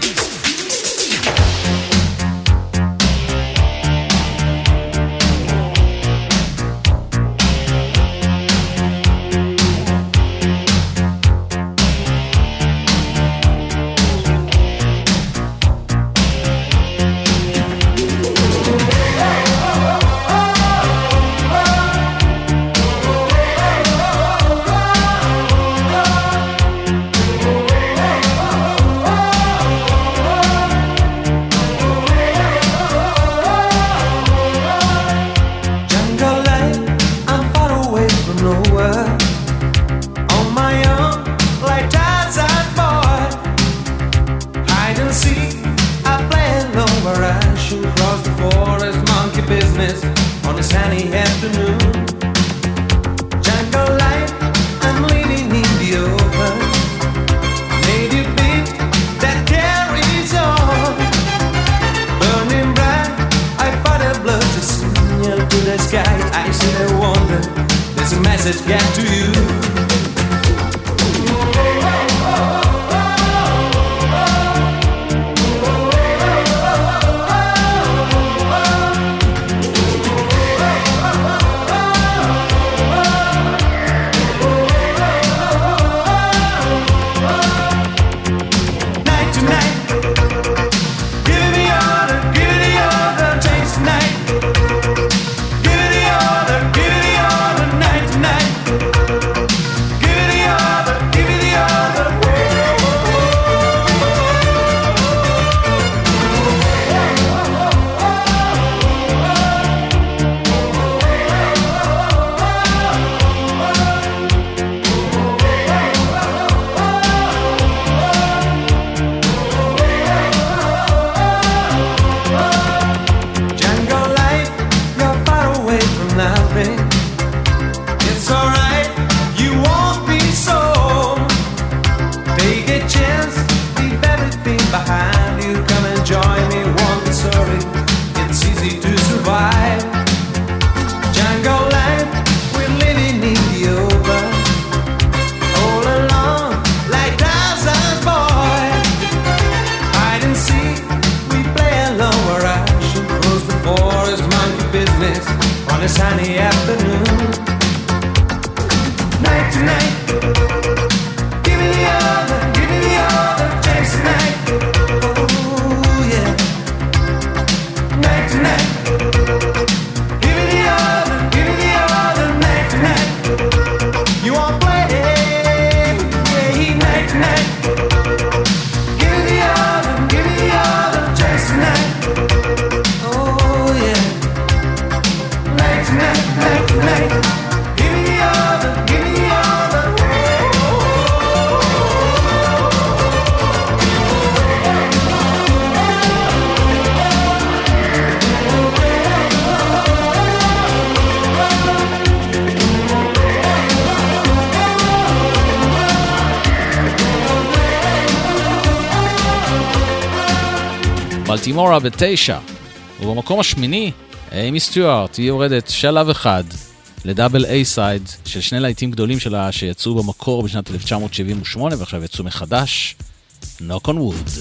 בלטימורה בתשע, ובמקום השמיני, אימי סטיוארט, היא יורדת שלב אחד לדאבל איי סייד של שני להיטים גדולים שלה שיצאו במקור בשנת אלף תשע מאות שבעים ושמונה ועכשיו יצאו מחדש, Knock on Wood.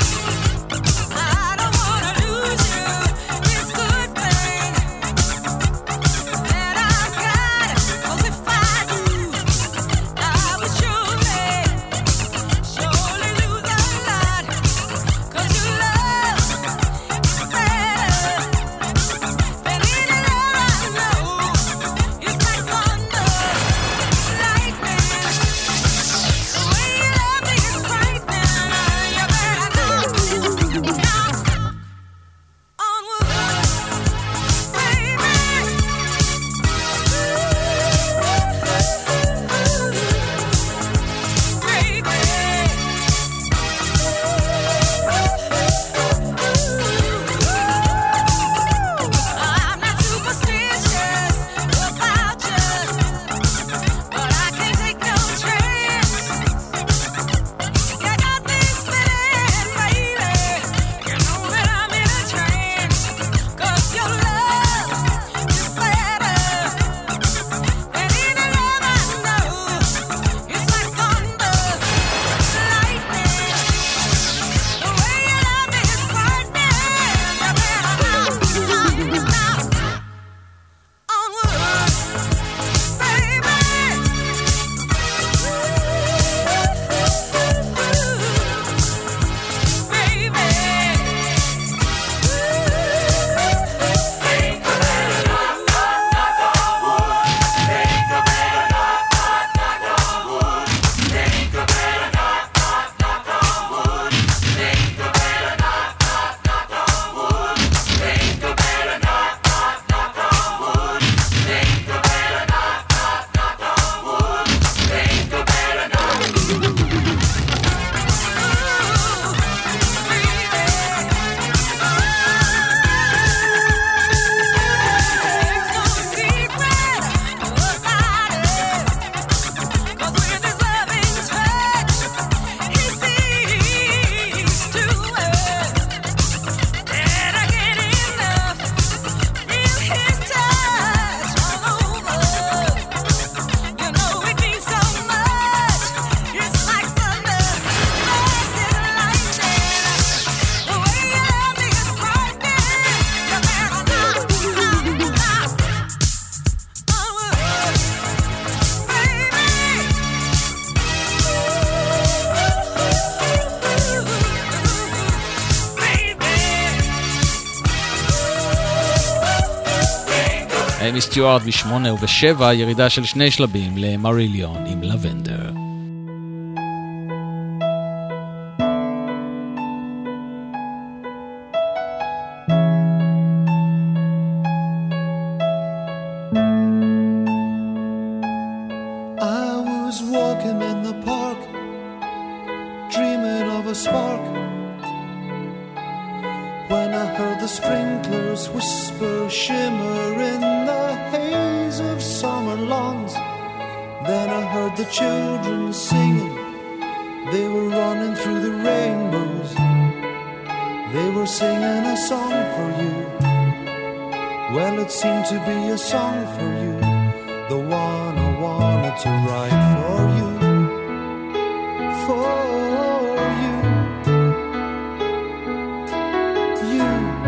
I don't wanna lose you, this good thing. אמי סטיוארט בשמונה ובשבע, ירידה של שני שלבים למריליון עם לבנדר. I was walking in the park, dreaming of a spark, when I heard the sprinklers whisper, shimmer in the haze of summer lawns. Then I heard the children singing, they were running through the rainbows. They were singing a song for you. Well, it seemed to be a song for you, the one I wanted to write for you, for you, you.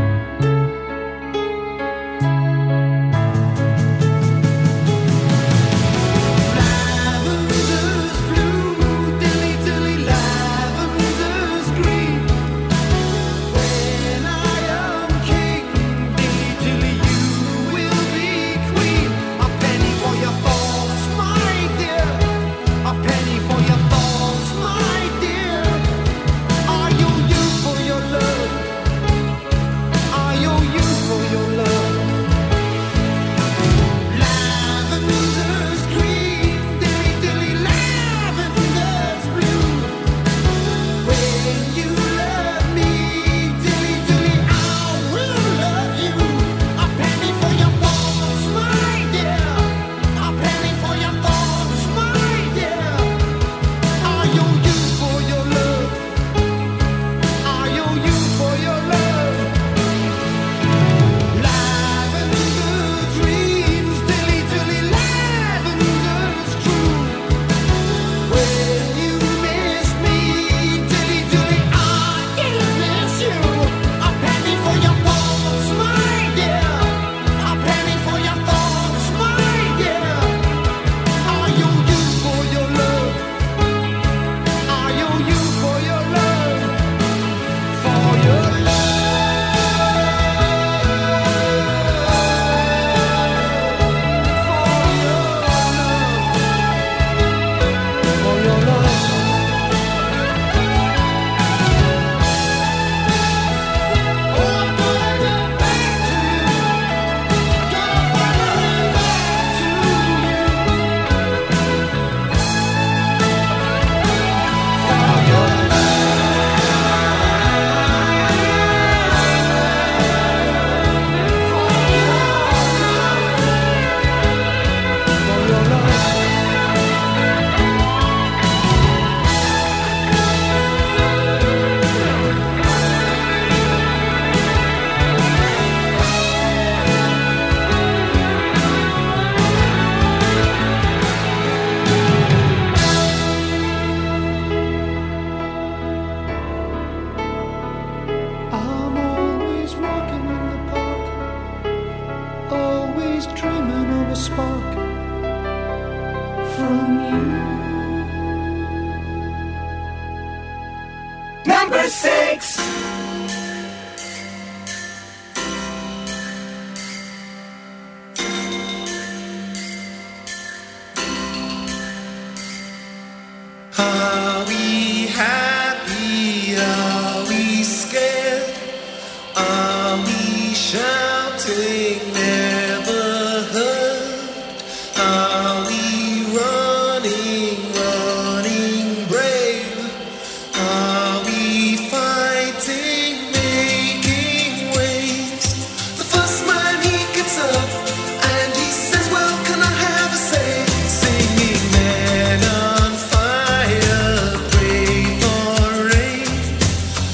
Lavender's blue, dilly dilly, lavender's green. When I am king, dilly dilly, you will be queen. A penny for your thoughts, my dear. A penny for your thoughts, my dear. Are you you for your love? Are you you for your love? Lavender's green, dilly dilly, lavender's blue. When you love me, dilly dilly, I will love you. A penny for your thoughts, my dear. A penny for your thoughts, my dear. Are you you for your love? Are you you for your love? Lavender dreams, dilly dilly, lavender's true. When you miss me, dilly dilly, I will miss you. A penny for your thoughts, my dear. A penny for your thoughts, my dear. Are you you for your love? Are you you for your love? For your love. For your love. Oh, I'm gonna get back to you. Gonna find my way back to you. For your I'm always walking in the park, always dreaming of a spark from you. Number six. Are we happy? Are we scared? Are we shouting, never heard? Are we running, running brave? Are we fighting, making waves? The first man he gets up and he says, well, can I have a say? Singing men on fire, pray for rain.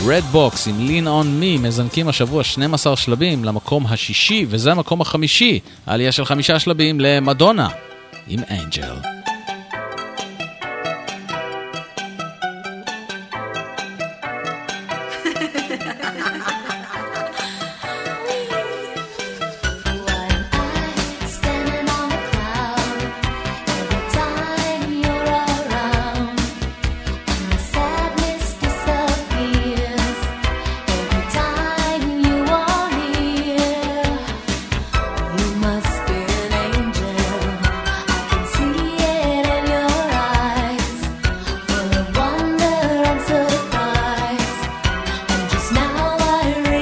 Red Box עם Lean on Me מזנקים השבוע שנים עשר שלבים למקום השישי, וזה המקום החמישי, העלייה של חמישה שלבים למדונה עם Angel. Standing on a cloud, every time you're around, and the sadness disappears. Every time you are near, you must be an angel. I can see it in your eyes, full of wonder and surprise. And just now I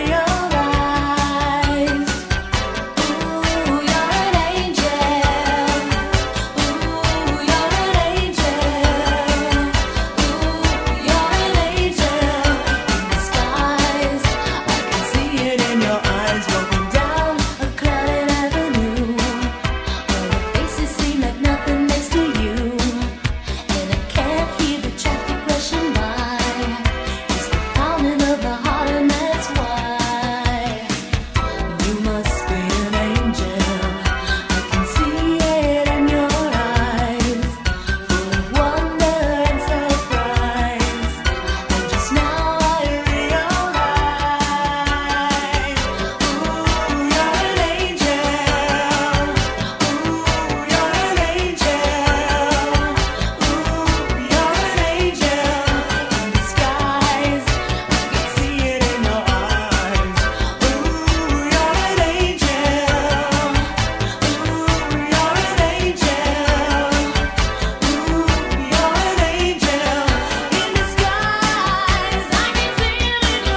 realize, ooh, you're an angel. Ooh, you're an angel. Ooh, you're an angel in disguise. I can see it in your eyes, walking down a crowded avenue, where the faces seem like nothing next to you, and I can't hear the traffic rushing by. It's the pounding of the heart, and that's why you must be an angel. I can see it in your eyes, full of wonder and surprise. And just now I realize, ooh, you're an angel. Ooh, you're an angel. Ooh, you're an angel in disguise. I can see it in your eyes. Ooh, you're an angel. Ooh, you're an angel. Ooh, you're an angel in disguise. I can see it in your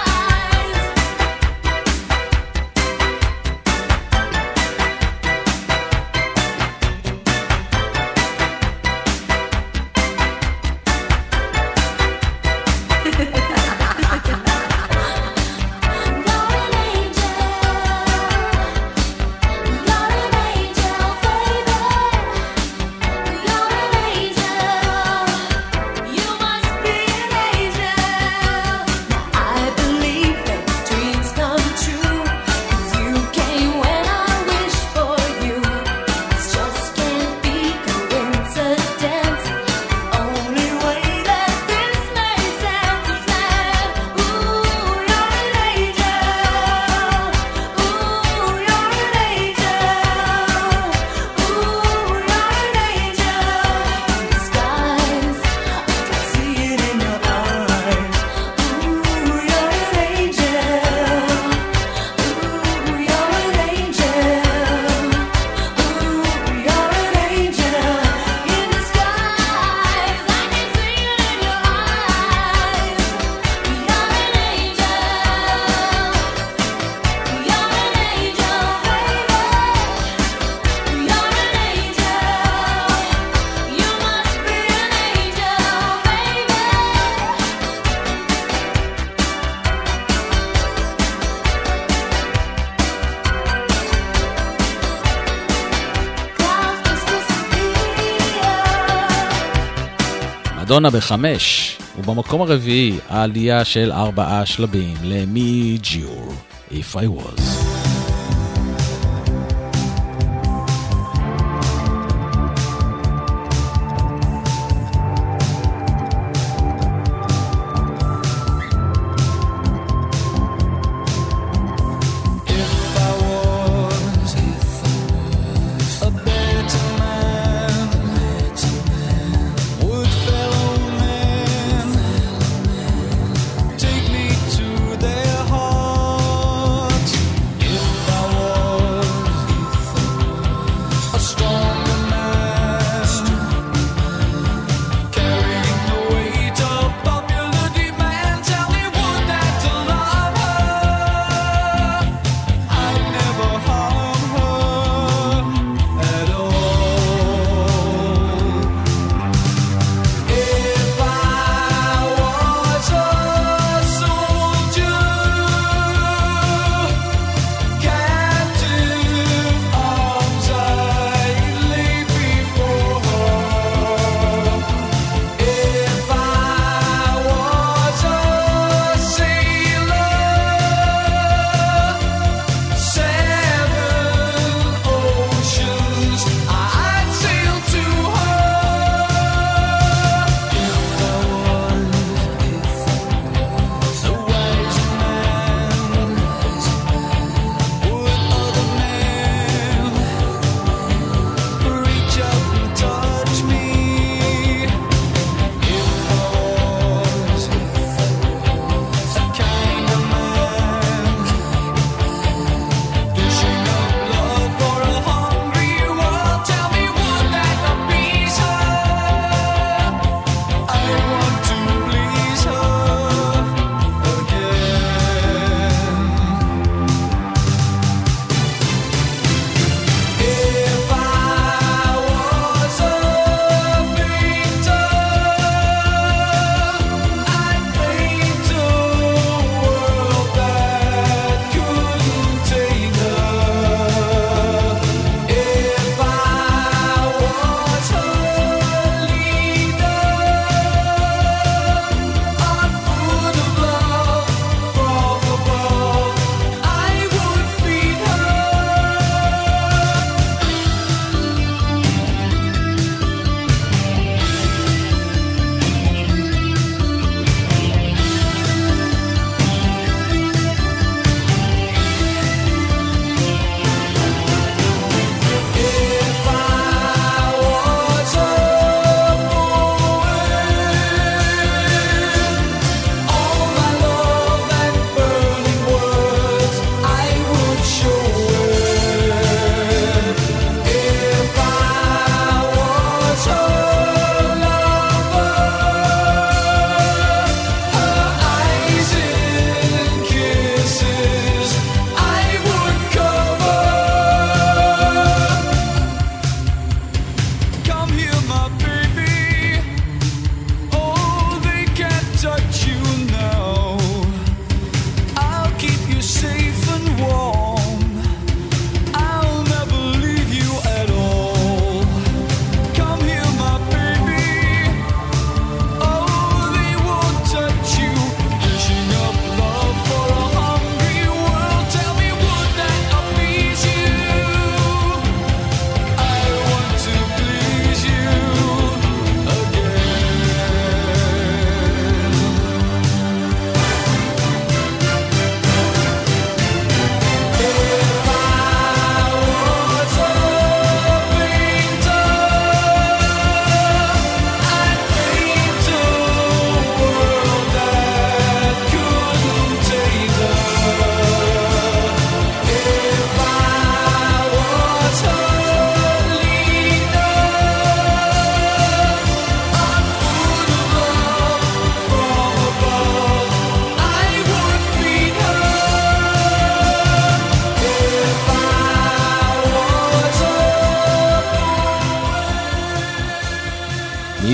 מדונה בחמש, ובמקום הרביעי העלייה של ארבעה שלבים למי ג'יור, If I Was. Take me to their heart.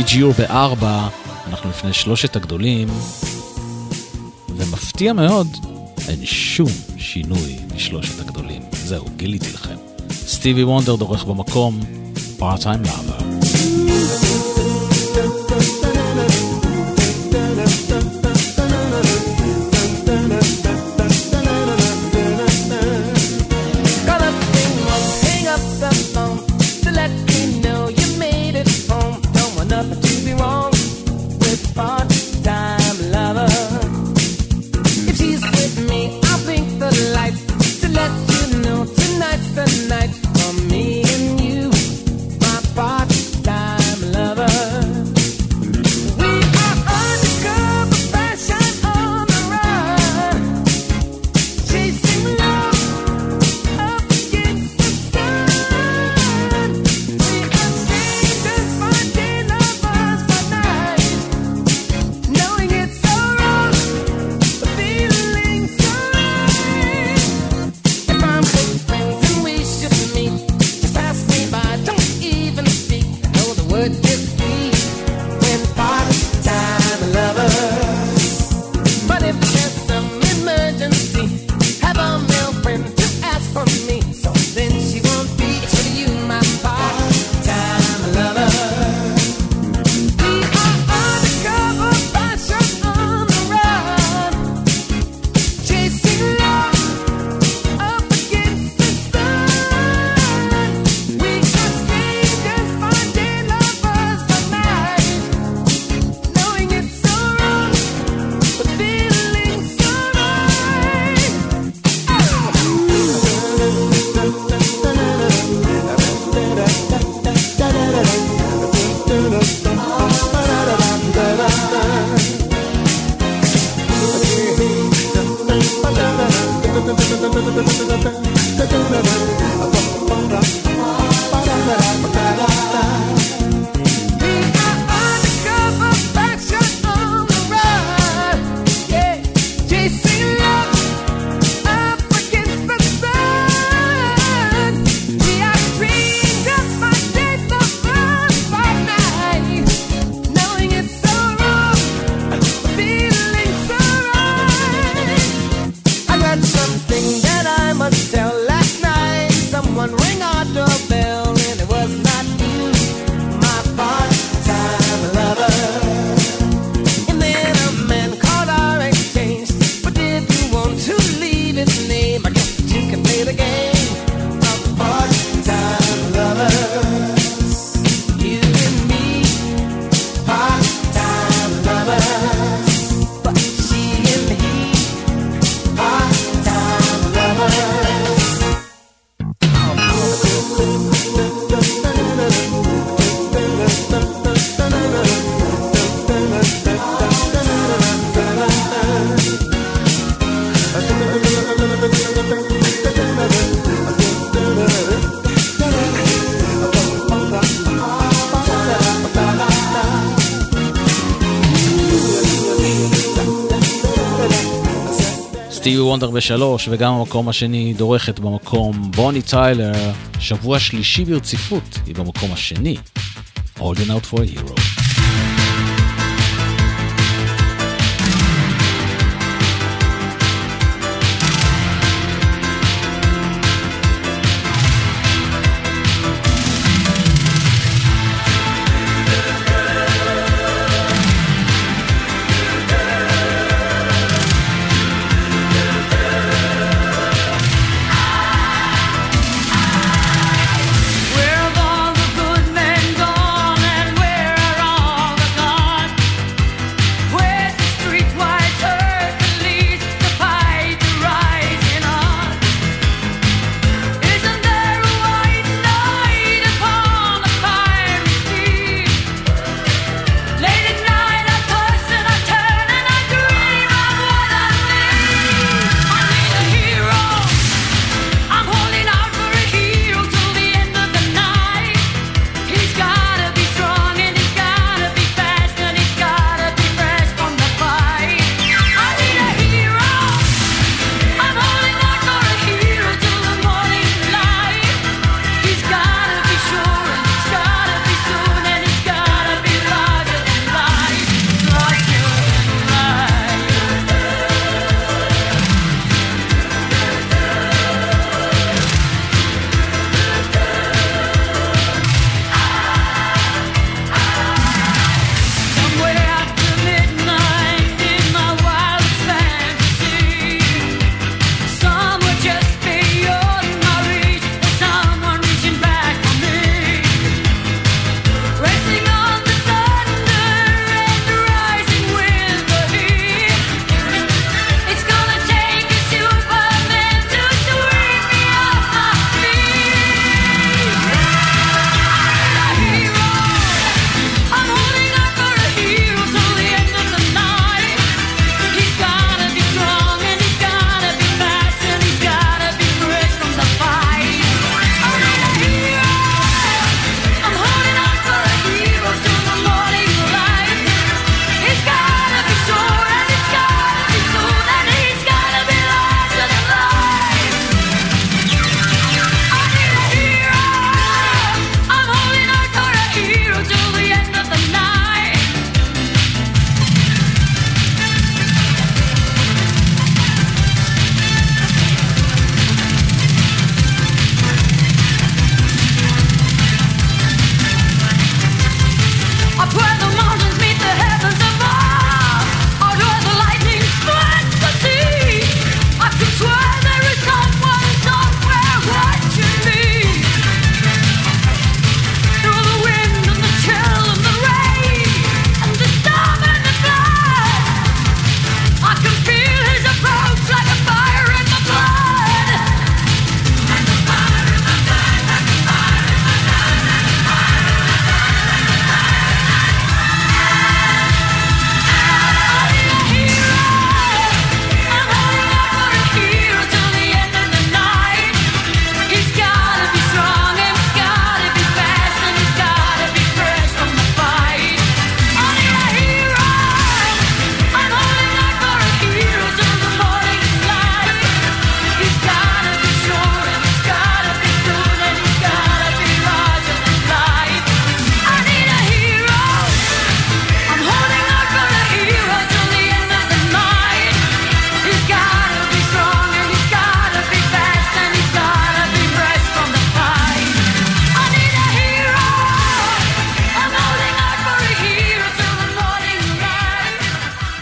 ג'יור בארבע, אנחנו לפני שלושת הגדולים, ומפתיע מאוד, אין שום שינוי משלושת הגדולים. זהו, גיליתי לכם. סטיבי וונדר דורך במקום, Part-Time Lover. סטיבי וונדר בשלוש, וגם המקום השני דורכת במקום בוני טיילר, שבוע שלישי ברציפות, היא במקום השני, Holding Out for a Hero. Where have all the good men gone, and where are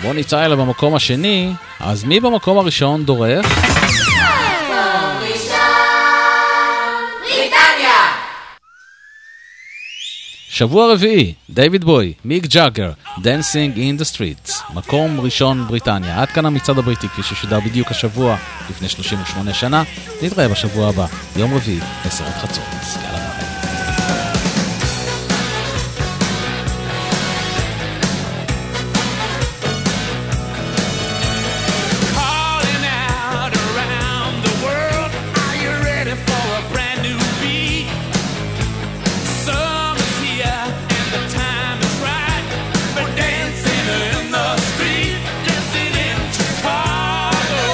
בוני טיילה במקום השני, אז מי במקום הראשון דורך? שבוע רביעי, דיוויד בוי, מיק ג'אגר, Dancing in the Streets, מקום ראשון בריטניה. עד כאן המצעד הבריטי כפי ששודר בדיוק השבוע לפני שלושים ושמונה שנה. נתראה בשבוע הבא, יום רביעי, עשר עד חצות. יאללה ביי. Calling out around the world, are you ready for a brand new beat? Summer's here and the time is right. We're dancing in the street, dancing in Chicago,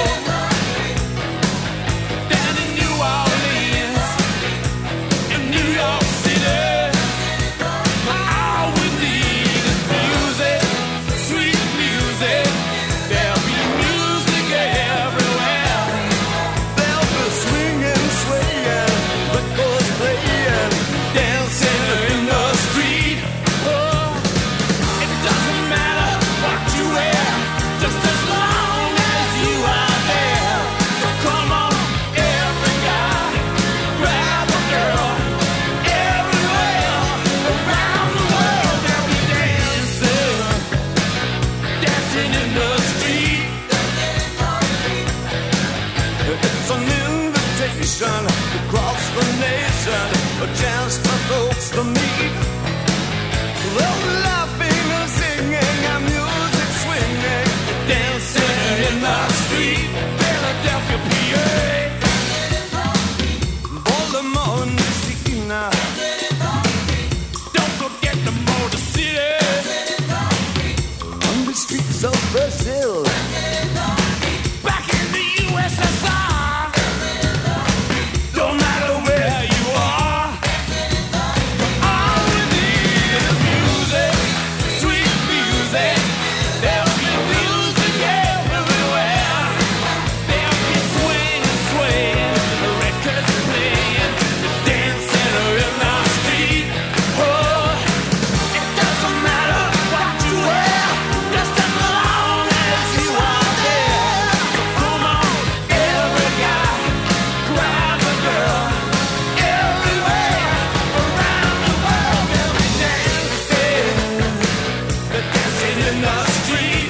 down in New Orleans, in New York City. All we need is music, sweet music. There'll be music everywhere. There'll be swinging, swaying, records playing, Dancing in the street. Oh, it doesn't matter what you wear, just as long as you are there. So come on, every guy, grab a girl. Everywhere around the world, they'll be dancing, dancing in the street. It's an invitation across the nation, a chance for folks to meet. They'll be laughing and singing and music swinging, Dancing in the street, Philadelphia, P A. Baltimore and Messina, Don't forget the Motor City. on the streets of Brazil. Back in the U S S R, don't matter where you are, all we need is music, sweet music. There'll be music everywhere. There'll be swing and swaying, records playing, dancing in the street. Oh, it doesn't matter what you wear, just as long as you are there. So come on, every guy, grab a girl. Everywhere around the world, they'll be dancing, they're dancing in the street.